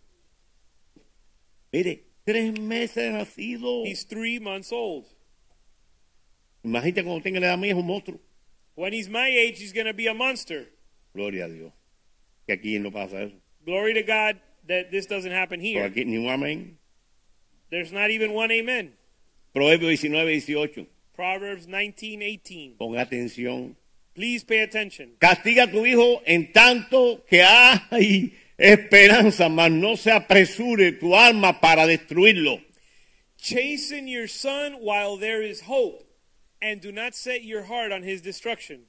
Mire, 3 meses nacido. He's 3 months old. Imagínate cuando tenga la edad mía, es un monstruo. When he's my age, he's going to be a monster. Gloria a Dios. Que aquí no pasa eso. Glory to God that this doesn't happen Por here. aquí ni un amén. There's not even one amen. Proverbio 19:18. Proverbs 19:18. Pon atención. Please pay attention. Castiga a tu hijo en tanto que hay esperanza, mas no se apresure tu alma para destruirlo. Chasten your son while there is hope, and do not set your heart on his destruction.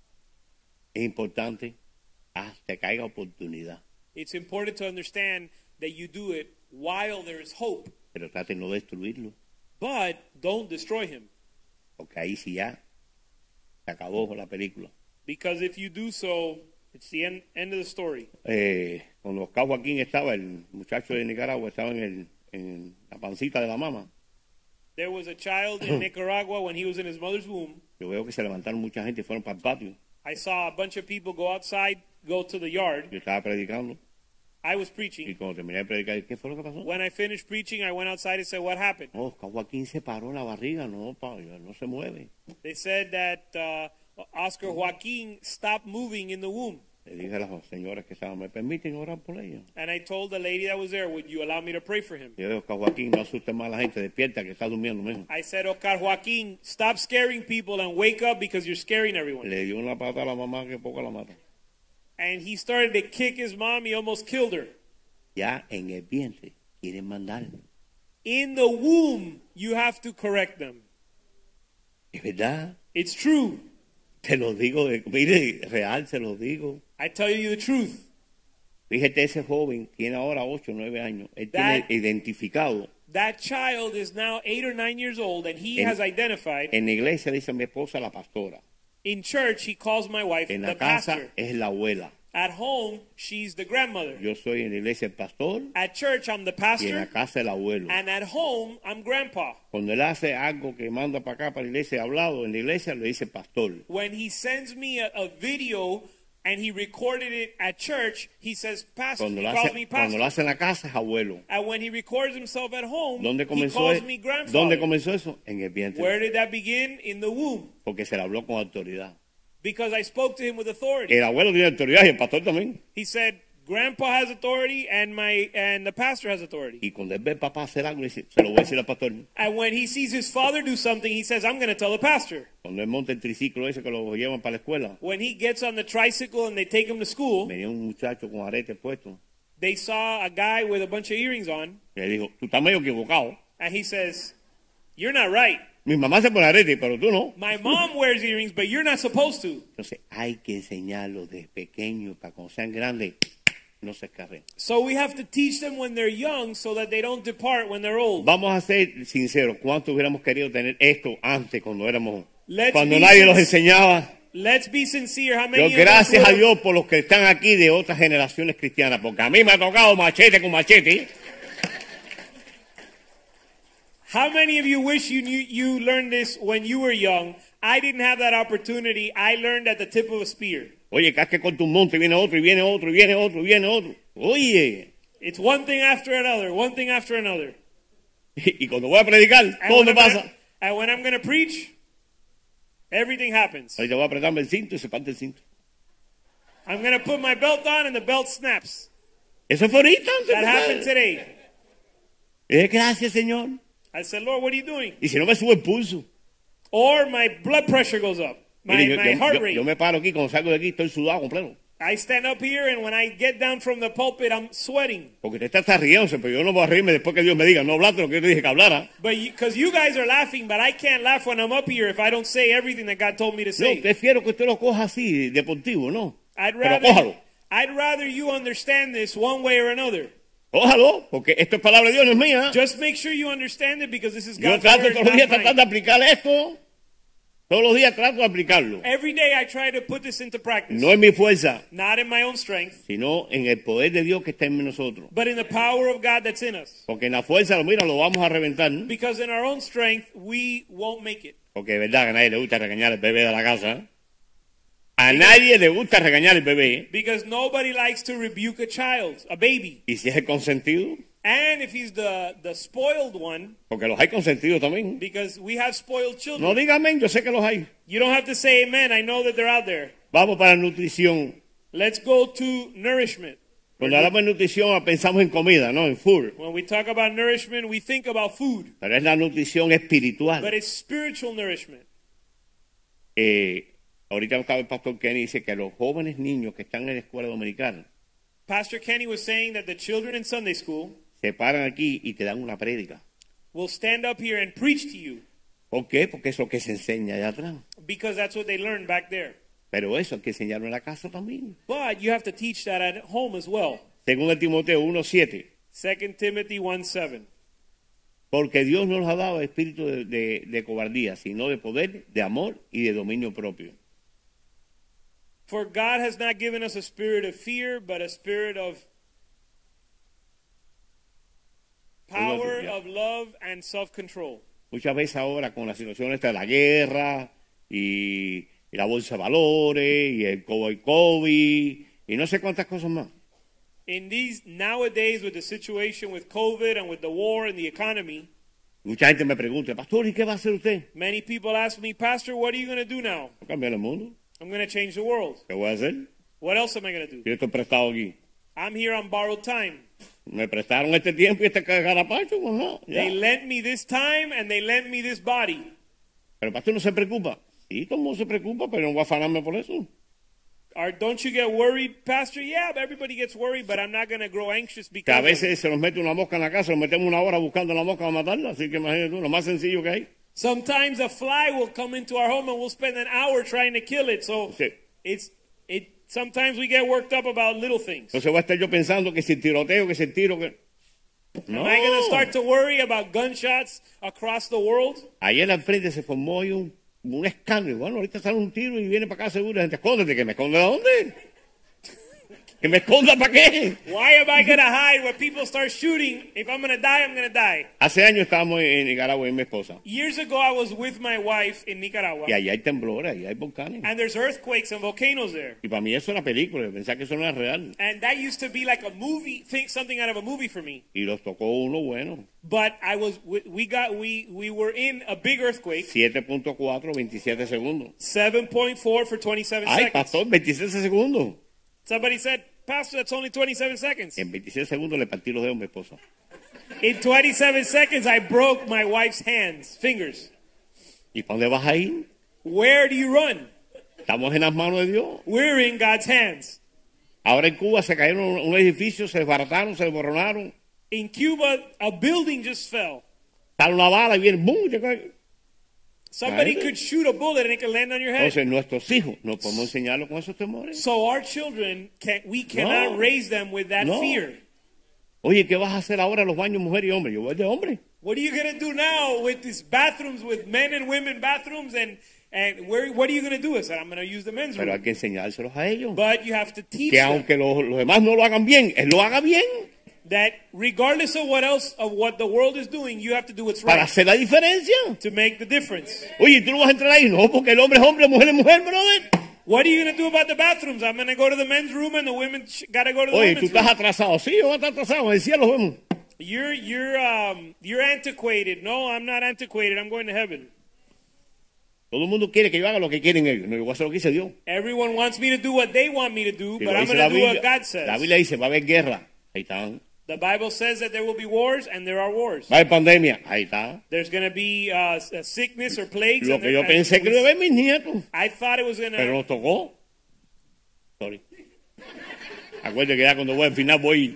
Es importante hasta que haya oportunidad, It's important to understand that you do it while there is hope, pero trate de no destruirlo, but don't destroy him. porque ahí sí ya se acabó la película. Because if you do so, it's the end of the story. Cuando Oscar Joaquín estaba, el muchacho de Nicaragua, estaba en la pancita de la mamá. There was a child in Nicaragua when he was in his mother's womb. Yo veo que se levantaron mucha gente y fueron para el patio. I saw a bunch of people go outside, go to the yard. Yo estaba predicando I was y preaching. cuando terminé de predicar, ¿qué fue lo que pasó? When I finished preaching, I went outside and said, what happened? No, Oscar Joaquín se paró la barriga, no, no se mueve. They said that Oscar Joaquin stopped moving in the womb. Le dije a las señoras que estaban, ¿me permiten orar por ella? And I told the lady that was there, would you allow me to pray for him? Yo digo, Oscar Joaquín, no asuste más a la gente, despierta que está durmiendo mismo. I said, Oscar Joaquin, stop scaring people and wake up because you're scaring everyone. Le dio una pata a la mamá que poco la mata. And he started to kick his mom. He almost killed her. Ya en el vientre quieren mandar. In the womb, you have to correct them. Es verdad, It's true. te lo digo, mire, real, se lo digo. I tell you the truth. Fíjate, ese joven tiene ahora 8 o 9 años. Él That- tiene identificado. That child is now 8 or 9 years old, and he En- has identified. En la iglesia dice mi esposa la pastora. In church, he calls my wife En the la casa pastor. es la abuela. At home, she's the grandmother. Yo soy en la iglesia el pastor At church, I'm the y en la pastor. casa el abuelo. And at home, I'm grandpa. Cuando él hace algo que manda para acá, para la iglesia, hablado, en la iglesia le dice pastor. When he sends me a video and he recorded it at church, he says pastor. Cuando He lo, calls me cuando lo pastor. hace en la casa es abuelo. And when he records himself at home, ¿Dónde he comenzó, calls me grandfather. ¿Dónde comenzó eso? En el vientre. Where did that begin? In the womb. Porque se le habló con autoridad. Because I spoke to him with authority. El abuelo tiene autoridad y el pastor también. He said, Grandpa has authority and the pastor has authority. Y cuando él ve al papá hacer algo, dice, se lo voy a decir al pastor. And when he sees his father do something, he says, I'm going to tell the pastor. Cuando él monta el triciclo ese que lo llevan para la escuela, When he gets on the tricycle and they take him to school, venía un muchacho con arete puesto. they saw a guy with a bunch of earrings on, Y le dijo, tú estás medio equivocado. and he says, you're not right. Mi mamá se pone arete, pero tú no. My mom wears earrings, but you're not supposed to. Entonces hay que enseñarlo desde pequeño para cuando sean grandes no se escarren. So we have to teach them when they're young so that they don't depart when they're old. Vamos a ser sinceros, ¿cuánto hubiéramos querido tener esto antes cuando éramos, Let's cuando be nadie los sincere. enseñaba? Let's be sincere. How Yo many of us gracias a would- Dios por los que están aquí de otras generaciones cristianas, porque a mí me ha tocado machete con machete. How many of you wish you learned this when you were young? I didn't have that opportunity. I learned at the tip of a spear. Oye, casque con tu monte, viene otro, y viene otro, y viene otro, y viene otro. Oye, It's one thing after another, one thing after another. y cuando voy a predicar, And todo me when I'm pasa. gonna- and when I'm going to preach, everything happens. Ahorita voy a apretarme el cinto y se parte el cinto. I'm going to put my belt on and the belt snaps. Eso fue ahorita. antes de That happened empezar. today. Gracias, Señor. I said, Lord, what are you doing? Y si no me sube el pulso. Or my blood pressure goes up, my Mire, heart rate. yo me paro aquí, cuando salgo de aquí estoy sudado completo. I stand up here and when I get down from the pulpit, I'm sweating. Porque usted está riéndose, pero yo no voy a reírme después que Dios me diga, no hablaste lo que yo te dije que hablara. But because you guys are laughing, but I can't laugh when I'm up here if I don't say everything that God told me to No, say. prefiero que usted lo coja así, deportivo, ¿no? I'd Pero cójalo. rather you understand this one way or another. Cójalo, porque esto es palabra de Dios, no es mía. Just make sure you understand it because this is Yo God's trato word, todos los not días mine. tratar de aplicar esto. Todos los días trato de aplicarlo. Every day I try to put this into practice. No en mi fuerza, Not in my own strength, sino en el poder de Dios que está en nosotros. but in the power of God that's in us. Porque en la fuerza, mira, lo vamos a reventar. Because in our own strength, we won't make it. Porque es verdad que a nadie le gusta regañar al bebé de la casa. A nadie le gusta regañar al bebé. Because nobody likes to rebuke a child, a baby. Y si es el consentido, And if he's the spoiled one, porque los hay consentidos también. because we have spoiled children. No diga amén, yo sé que los hay. You don't have to say amen. I know that they're out there. Vamos para la nutrición. Let's go to nourishment. Cuando hablamos de nutrición pensamos en comida, no en food. When we talk about nourishment, we think about food. Pero es la nutrición espiritual. But it's spiritual nourishment. Ahorita estaba el pastor Kenny dice que los jóvenes niños que están en la escuela dominicana Pastor Kenny was saying that the children in Sunday school se paran aquí y te dan una prédica. will stand up here and preach to you ¿Por qué? Porque es lo que se enseña allá atrás. because that's what they learned back there. Pero eso hay que enseñarlo en la casa también. But you have to teach that at home as well. Según el Timoteo 1:7. 2 Timothy 1:7. Porque Dios no nos ha dado espíritu de cobardía, sino de poder, de amor y de dominio propio. For God has not given us a spirit of fear, but a spirit of power, of love, and self-control. Muchas veces ahora con la situación esta de la guerra y la bolsa de valores y el COVID y no sé cuántas cosas más. In these nowadays, with the situation with COVID and with the war and the economy, Mucha gente me pregunta, pastor, ¿y qué va a hacer usted? many people ask me, Pastor, what are you going to do now? Cambiar el mundo. I'm going to change the world. ¿Qué voy a hacer? What else am I going to do? Yo estoy prestado aquí. I'm here on borrowed time. Me prestaron este tiempo y este carapacho, pues no. Ya. They lent me this time and they lent me this body. Pero el pastor no se preocupa. Sí, todo el mundo se preocupa, pero no voy a afanarme por eso. Don't you get worried, Pastor? Yeah, everybody gets worried, but I'm not going to grow anxious Que a because of it. veces se nos mete una mosca en la casa, nos metemos una hora buscando la mosca para matarla. Así que imagínate tú, lo más sencillo que hay. Sometimes a fly will come into our home and we'll spend an hour trying to kill it. So Sí. sometimes we get worked up about little things. Entonces voy a estar yo pensando que si el tiroteo, que si el tiro, que... No. Am I going to start to worry about gunshots across the world? Ayer al frente se formó hoy un escándalo. Bueno, ahorita sale un tiro y viene para acá seguro. La gente, escóndete, que me esconde de dónde. ¿Que me esconda para qué? Why am I going to hide when people start shooting? If I'm going to die, I'm going to die. Hace años estábamos en Nicaragua y mi esposa. Years ago, I was with my wife in Nicaragua. Y allá hay temblores, allá hay volcanes. And there's earthquakes and volcanoes there. Y para mí eso era película, yo pensaba que eso no era real. And that used to be like a movie, something out of a movie for me. Y los tocó uno bueno. But we were in a big earthquake. 7.4, 27 segundos. 7.4 for 27 Ay, seconds. pastor, 27 segundos. Somebody said, Pastor, that's only 27 seconds. En 27 segundos le partí los dedos a mi esposa. In 27 seconds, I broke my wife's fingers. ¿Y para dónde vas a ir? Where do you run? Estamos en las manos de Dios. We're in God's hands. Ahora en Cuba se cayeron un edificio, se desbarataron, se desmoronaron. In Cuba, a building just fell. Sale una bala y viene, ¡bum! Te cae. Somebody Right. could shoot a bullet and it could land on your head. Entonces nuestros hijos no podemos enseñarlos con esos temores. So our children, we cannot No. raise them with that No. fear. Oye, ¿qué vas a hacer ahora en los baños mujer y hombre? Yo voy de hombre. What are you going to do now with these bathrooms, with men and women bathrooms? And what are you going to do? I said, I'm going to use the men's Pero hay room. que enseñárselos a ellos. But you have to teach Que them aunque los demás no lo hagan bien, él lo haga bien that regardless of what the world is doing, you have to do what's para right hacer la diferencia. to make the difference. Oye, ¿tú no vas a entrar ahí? No, porque el hombre es hombre, mujer es mujer, brother. What are you going to do about the bathrooms? I'm going to go to the men's room and the women got to go to the Oye, tú women's estás room. atrasado. Sí, yo voy a estar atrasado. En el cielo vemos. You're antiquated. No, I'm not antiquated. I'm going to heaven. Todo el mundo quiere que yo haga lo que quieren ellos. No, yo voy a hacer lo que dice Dios. Everyone wants me to do what they want me to do, Si but lo I'm dice going to do what Biblia, God says. la Biblia dice, va a haber guerra. Ahí está. The Bible says that there will be wars, and there are wars. Va a haber pandemia. Ahí está. There's going to be a sickness or plagues. Lo and que yo and pensé que iba a ver mis nietos. I thought it was going Pero to... nos tocó. Sorry. Acuérdate que ya cuando voy al final voy.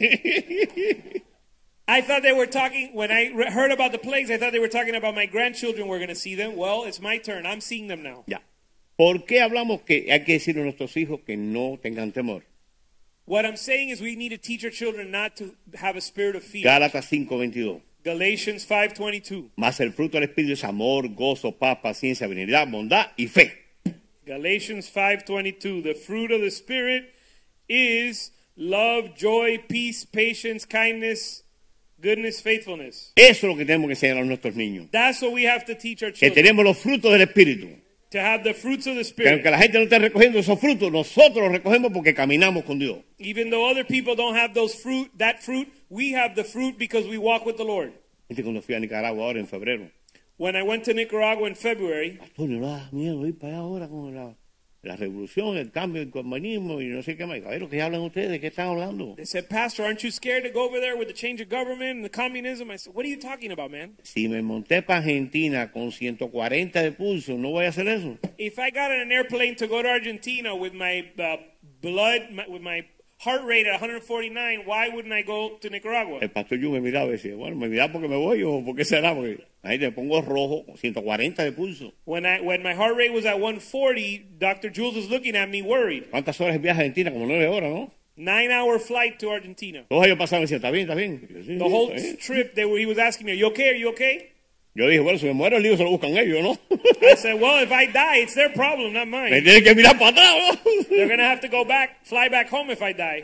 I thought they were talking, when I heard about the plagues, I thought they were talking about my grandchildren were going to see them. Well, it's my turn. I'm seeing them now. Ya. ¿Por qué hablamos que hay que decirle a nuestros hijos que no tengan temor? What I'm saying is we need to teach our children not to have a spirit of fear. Gálatas 5:22. Galatians 5:22. Mas el fruto del Espíritu es amor, gozo, paz, paciencia, benignidad, bondad y fe. Galatians 5:22. The fruit of the Spirit is love, joy, peace, patience, kindness, goodness, faithfulness. Eso es lo que tenemos que enseñar a nuestros niños. That's what we have to teach our Que children. tenemos los frutos del Espíritu. To have the fruits of the Que Spirit. aunque la gente no esté recogiendo esos frutos, nosotros los recogemos porque caminamos con Dios. Even though other people don't have that fruit, we have the fruit because we walk with the Lord. Este cuando fui a Nicaragua ahora en febrero. When I went to Nicaragua in February, Antonio, no da miedo ir para allá ahora con la revolución, el cambio, el comunismo y no sé qué más. A ver lo que hablan ustedes, ¿de qué están hablando? they said, Pastor, aren't you scared to go over there with the change of government and the communism? I said, what are you talking about, man? Si me monté para Argentina con 140 de pulso, ¿no voy a hacer eso? If I got on an airplane to go to Argentina with my with my heart rate at 149, why wouldn't I go to Nicaragua? El pastor Yu me miraba y decía, bueno, me miraba porque me voy o por qué será, porque ahí te pongo rojo, con 140 de pulso. When my heart rate was at 140, Dr. Jules was looking at me worried. ¿Cuántas horas viaja a Argentina? Como 9 horas, ¿no? 9-hour flight to Argentina. Todos ellos pasaban y decían, ¿está bien, está bien? Yo, sí, The whole está bien. trip, he was asking me, are you okay? Are you okay? Yo dije, bueno, si me muero el lío se lo buscan ellos, ¿no? I said, well, if I die, it's their problem, not Me mine. tienen que mirar para atrás, They're ¿no? going to have to fly back home if I die.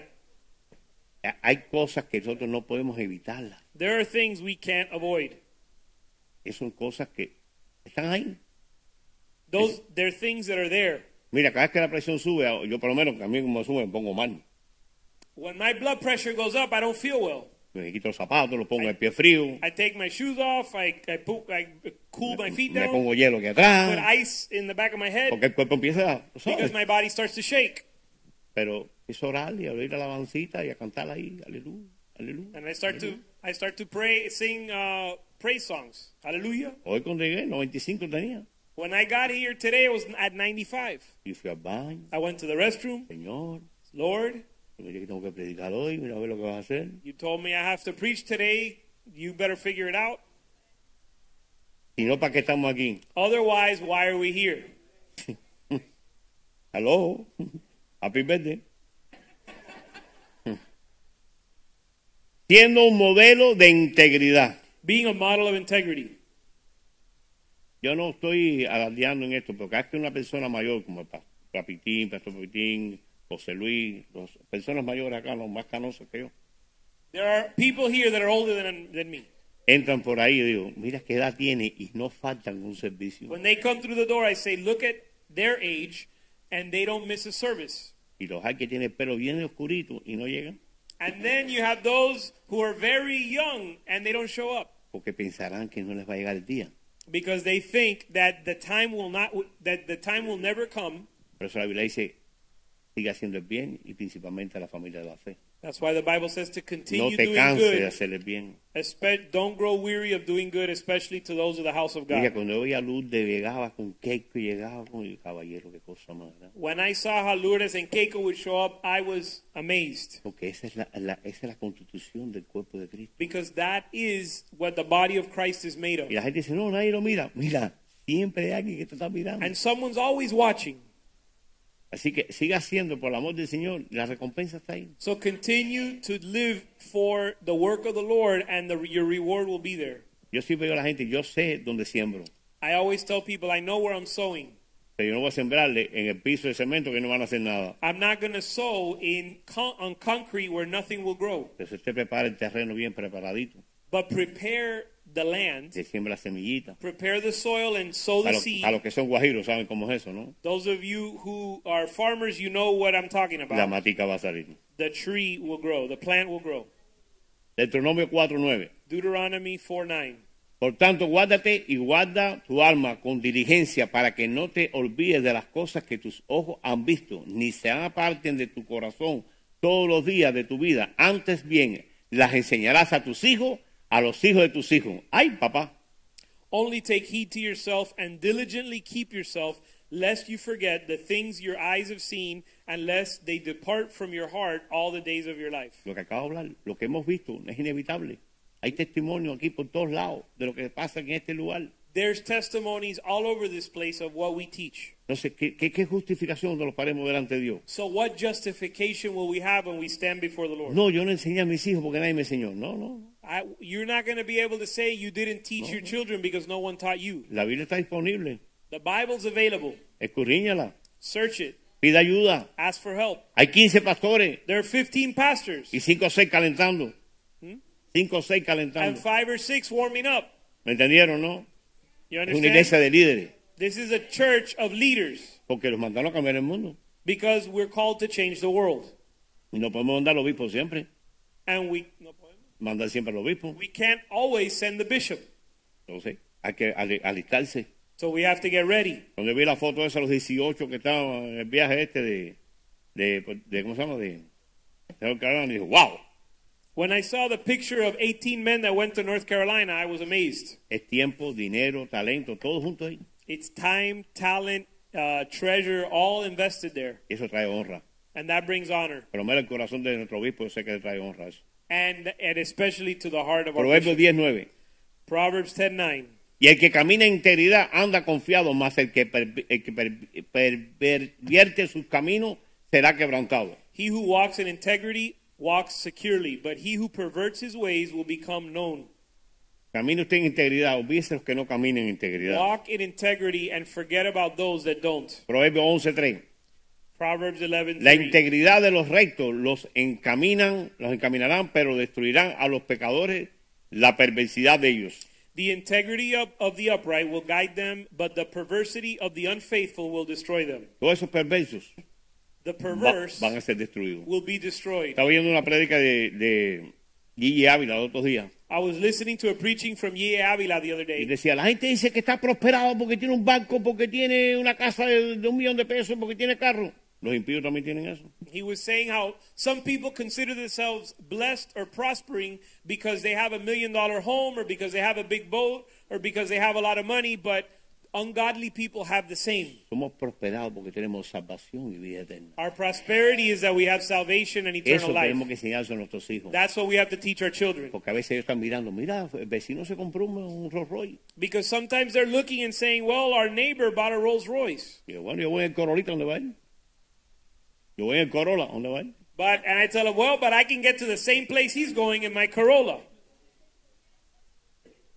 Hay cosas que nosotros no podemos evitarlas. There are things we can't avoid. Esas son cosas que están ahí. They're things that are there. Mira, cada vez que la presión sube, yo por lo menos, que a mí como sube, me pongo mal. When my blood pressure goes up, I don't feel well. Me quito los zapatos, los pongo el pie frío, I take my shoes off. I cool my feet me down. pongo hielo aquí Put atrás, ice in the back of my head porque el cuerpo empieza, ¿sabes? because my body starts to shake. Pero es orar y a oír la alabancita y a cantar ahí, aleluya, aleluya. And I start to pray, sing praise songs. Hallelujah. Hoy cuando llegué, 95 tenía. When I got here today, I was at 95. Y fui al baño, I went to the restroom. Señor, Lord, mira que tengo que predicar hoy, mira a ver lo que vas a hacer. you told me I have to preach today. You better figure it out. Si no, ¿para qué estamos aquí? Otherwise, why are we here? Hello, happy birthday. Siendo un modelo de integridad. Being a model of integrity. Yo no estoy alardeando en esto, porque es que una persona mayor como el Pastor Papitín, José Luis, las personas mayores acá, los más canosos que yo, There are people here that are older than me. entran por ahí y digo, mira qué edad tiene y no faltan un servicio. When they come through the door, I say, look at their age, and they don't miss a service. Y los hay que tienen el pelo bien oscurito y no llegan And then you have those who are very young, and they don't show up porque pensarán que no les va a llegar el día. because they think that the time will never come. Por eso la Biblia dice, sigue haciendo el bien y principalmente a la familia de la fe. That's why the Bible says to No continue te doing canses de good. hacer el bien. Don't grow weary of doing good, especially to those of the house of Mira, God. cuando yo veía a Lourdes, llegaba con Keiko y llegaba con el caballero, qué cosa más, ¿verdad? When I saw how Lourdes and Keiko would show up, I was amazed Porque esa es la constitución del cuerpo de Cristo. because that is what the body of Christ is made of. Y la gente dice, no, nadie lo mira. Mira, siempre hay alguien que te está mirando. And someone's always watching. Así que siga haciendo por el amor del Señor. La recompensa está ahí. So continue to live for the work of the Lord, and your reward will be there. Yo siempre digo a la gente, yo sé dónde siembro. I always tell people, I know where I'm sowing. Pero yo no voy a sembrarle en el piso de cemento que no van a hacer nada. I'm not going to sow on concrete where nothing will grow. Entonces usted prepara el terreno bien preparadito. But prepare the land, Se siembra la semillita. prepare the soil, and sow the seed. A los que son guajiros saben cómo es eso, ¿no? Those of you who are farmers, you know what I'm talking La about. matica va a salir. The tree will grow, the plant will grow. Deuteronomio 4:9. Deuteronomy 4:9. Por tanto, guárdate y guarda tu alma con diligencia para que no te olvides de las cosas que tus ojos han visto, ni se aparten de tu corazón todos los días de tu vida. Antes bien, las enseñarás a tus hijos, a los hijos de tus hijos. ¡Ay, papá! Only take heed to yourself and diligently keep yourself, lest you forget the things your eyes have seen, and lest they depart from your heart all the days of your life. Lo que acabo de hablar, lo que hemos visto, es inevitable. Hay testimonio aquí por todos lados de lo que pasa en este lugar. There's testimonies all over this place of what we teach. Entonces, ¿qué justificación nos lo paremos delante de Dios? So what justification will we have when we stand before the Lord? No, yo no enseñé a mis hijos porque nadie me enseñó. No. You're not going to be able to say you didn't teach your children because no one taught you. La Biblia está disponible. The Bible's available. Escudriñala. Search it. Pida ayuda. Ask for help. Hay 15 pastores There are 15 pastors y 5 o 6 calentando. 5 o 6 and calentando. 5 or 6 warming up. ¿Me entendieron, no? You Es una understand? iglesia de líderes. This is a church of leaders Porque los mandaron a cambiar el mundo. because we're called to change the world. Y no podemos mandar al obispo siempre. And Mandar siempre al obispo. we can't always send the bishop. Entonces, hay que alistarse. So we have to get ready. Cuando vi la foto esa, los 18 que estaban en el viaje este de ¿cómo se llama? De North Carolina, y dijo, wow. When I saw the picture of 18 men that went to North Carolina, I was amazed. Es tiempo, dinero, talento, todo junto ahí. It's time, talent, treasure, all invested there. Eso trae honra. And that brings honor. Pero mira el corazón de nuestro obispo, yo sé que le trae honra eso. And especially to the heart of our Proverbios bishop. 10:9. Proverbs 10:9. Y el que camina en integridad anda confiado, mas el que pervierte sus caminos será quebrantado. He who walks in integrity walks securely, but he who perverts his ways will become known. Camina usted en integridad, olvídese los que no caminen en integridad. Walk in integrity and forget about those that don't. Proverbios 11:3. Proverbs 11:3. La integridad de los rectos los encaminarán, pero destruirán a los pecadores la perversidad de ellos. The integrity of the upright will guide them, but the perversity of the unfaithful will destroy them. Todos esos perversos The perverse van a ser destruidos. will be destroyed. Estaba viendo una prédica de Guille Ávila los otros días. I was listening to a preaching from Ye Avila the other Y day. decía, la gente dice que está prosperado porque tiene un banco, porque tiene una casa de $1 millón de pesos, porque tiene carro. Los impíos también tienen eso. He was saying how some people consider themselves blessed or prospering because they have $1 million home or because they have a big boat or because they have a lot of money, but ungodly people have the same. Somos prosperados porque tenemos salvación y vida eterna. Our prosperity is that we have salvation and eternal Eso tenemos life. que enseñarse a nuestros hijos. That's what we have to teach our children. Porque a veces ellos están mirando, mira, el vecino se compró un Rolls Royce. Because sometimes they're looking and saying, well, our neighbor bought a Rolls Royce. Y yo, bueno, yo voy en el Corolita, ¿dónde va él? Yo voy en el Corolla, ¿dónde va él? And I tell them, well, but I can get to the same place he's going in my Corolla.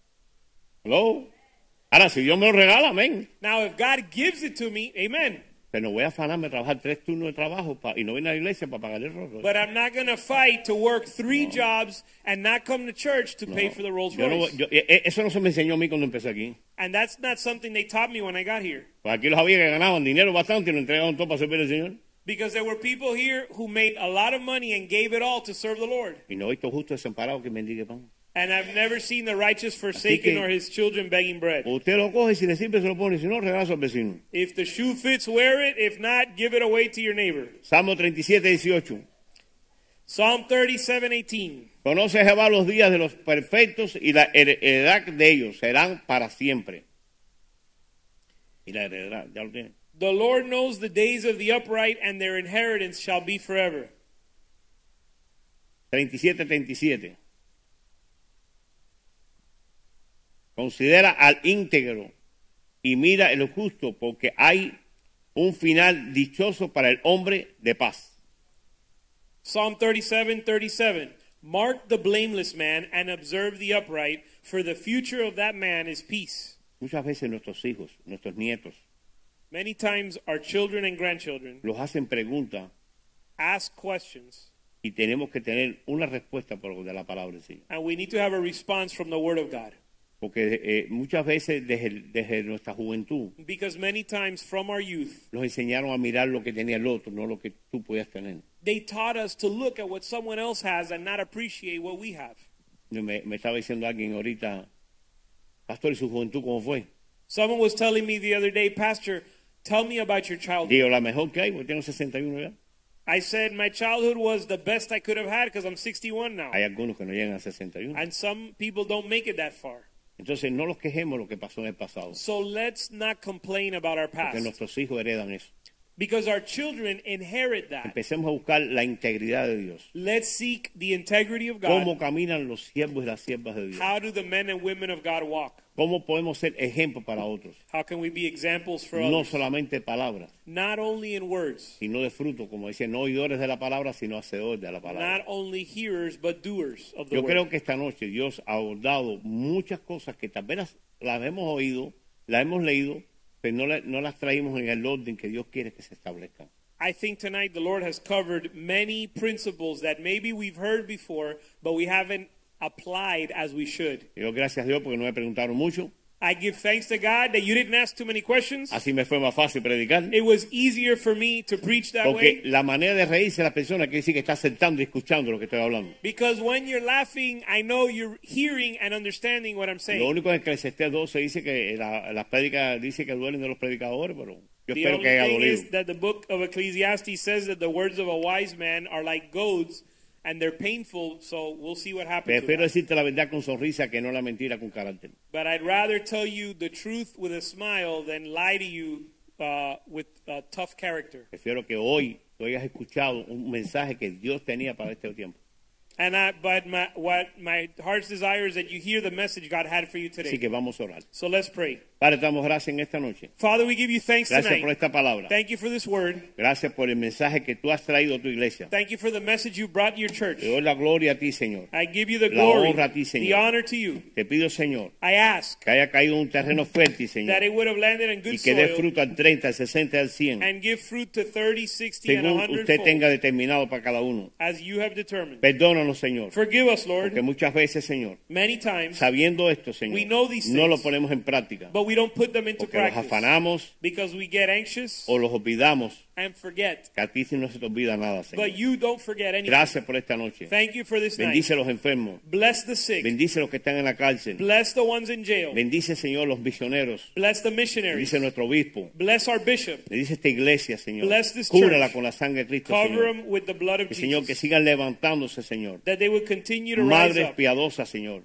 Hello. Ahora, si Dios me lo regala, amén. Now, if God gives it to me, amen. Pero no voy a afanarme a trabajar 3 turnos de trabajo y no venir a la iglesia para pagar el Rolls Royce. But I'm not going to fight to work 3 jobs and not come to church to pay for the Rolls Royce. Eso no se me enseñó a mí cuando empecé aquí. And that's not something they taught me when I got here. Pues aquí los había que ganaban dinero bastante y lo entregaban todo para servir al Señor. Because there were people here who made a lot of money and gave it all to serve the Lord. Y no he visto justo desamparado que mendigue pan. And I've never seen the righteous forsaken or his children begging bread. Usted lo coge, si le sirve se lo pone, si no, regala al vecino. If the shoe fits, wear it. If not, give it away to your neighbor. Salmo 37:18. Psalm 37:18. Conoce Jehová los días de los perfectos y la heredad de ellos serán para siempre. Y la heredad, ya lo tiene. The Lord knows the days of the upright, and their inheritance shall be forever. 37:37. Considera al íntegro y mira el justo, porque hay un final dichoso para el hombre de paz. Psalm 37:37. Mark the blameless man and observe the upright, for the future of that man is peace. Muchas veces nuestros hijos, nuestros nietos, Many times our children and grandchildren los hacen preguntas ask questions, y tenemos que tener una respuesta por de la palabra del Señor. and we need to have a response from the Word of God. Porque muchas veces desde nuestra juventud Because many times from our youth, nos enseñaron a mirar lo que tenía el otro, no lo que tú podías tener. they taught us to look at what someone else has and not appreciate what we have. Me estaba diciendo alguien ahorita, pastor, ¿y su juventud cómo fue? Someone was telling me the other day, Pastor, tell me about your childhood. Digo, la mejor que hay, porque tengo 61 ya. I said my childhood was the best I could have had because I'm 61 now. Hay algunos que no llegan a 61. And some people don't make it that far. Entonces no los quejemos lo que pasó en el pasado, So let's not complain about our porque past. nuestros hijos heredan eso. Because our children inherit that. Empecemos a buscar la integridad de Dios. Let's seek the integrity of ¿Cómo God. caminan los siervos y las siervas de Dios? How do the men and women of God walk? ¿Cómo podemos ser ejemplo para otros? How can we be examples for No others? solamente palabras, Not only in words, sino de fruto, como dice, no oidores de la palabra, sino hacedores de la not palabra. only hearers, but doers of the Yo creo word. que esta noche Dios ha abordado muchas cosas que tal vez las hemos oído, las hemos leído, pero no las traímos en el orden que Dios quiere que se establezcan. I think tonight the Lord has covered many principles that maybe we've heard before, but we haven't applied as we should. Yo gracias a Dios porque no me preguntaron mucho. I give thanks to God that you didn't ask too many questions. Así me fue más fácil predicar. It was easier for me to preach that Porque way. la manera de reírse de la persona quiere decir que está aceptando y escuchando lo que estoy hablando. Because when you're laughing, I know you're hearing and understanding what I'm Lo saying. único es que en Eclesiastés 12 dice que las prédicas dice que duelen de los predicadores, pero yo The espero only que haya thing dolido. is that the book of Ecclesiastes says that the words of a wise man are like goads and they're painful, so we'll see what happens with Prefiero that. decirte la verdad con sonrisa que no la mentira con carácter. But I'd rather tell you the truth with a smile than lie to you with a tough character. Prefiero que hoy tú hayas escuchado un mensaje que Dios tenía para este tiempo. But my heart's desire is that you hear the message God had for you Así today. que vamos a orar. So let's pray. Padre, te damos gracias en esta noche. Father, we give you thanks Gracias por tonight. esta palabra. Thank you for this word. Gracias por el mensaje que tú has traído a tu iglesia. Thank you for the message you brought to your church. Te doy la gloria a ti, Señor. I give you the La glory, honra a ti, Señor. the honor to you. Te pido, Señor, I ask que haya caído un terreno fértil, Señor, that it would have landed in good y que dé soil fruto al 30, al 60, al 100, and give fruit to 30, 60, and según 100 usted fold, tenga determinado para cada uno. as you have determined. Perdónanos, Señor, Forgive us, Lord. porque muchas veces, Señor, Many times, sabiendo esto, we Señor, know these no lo things, ponemos en práctica, but we don't put them into porque los practice afanamos because we get anxious o los olvidamos, and forget. que a ti sí no se te olvida nada, Señor. But you don't forget anything. Gracias por esta noche. Thank you for this night. Bendice a los enfermos, Bless the sick. bendice a los que están en la cárcel, Bless the ones in jail. bendice, Señor, los misioneros, Bless the missionaries. bendice a nuestro obispo, Bless our bishop. bendice esta iglesia, Señor, Bless this cúrala church. con la sangre de Cristo, Cover Señor. them with the blood of Que, Señor, que Jesus. sigan levantándose, Señor. That they would continue to rise Madres up. piadosas, Señor.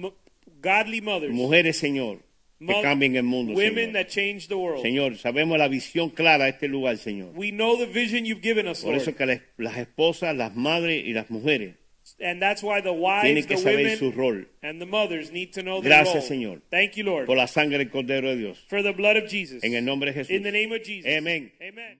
Godly mothers. Mujeres, Señor, que cambien el mundo, Women Señor. that change the world. Señor, sabemos la visión clara de este lugar, Señor. We know the vision you've given us, Por Lord. eso que las esposas, las madres y las mujeres And that's why the tienen wives, que the saber su women, rol. and the mothers need to know their Gracias, role. Señor. Thank you, Lord. Por la sangre del Cordero de Dios. For the blood of Jesus. En el nombre de Jesús. In the name of Jesus. Amén. Amen.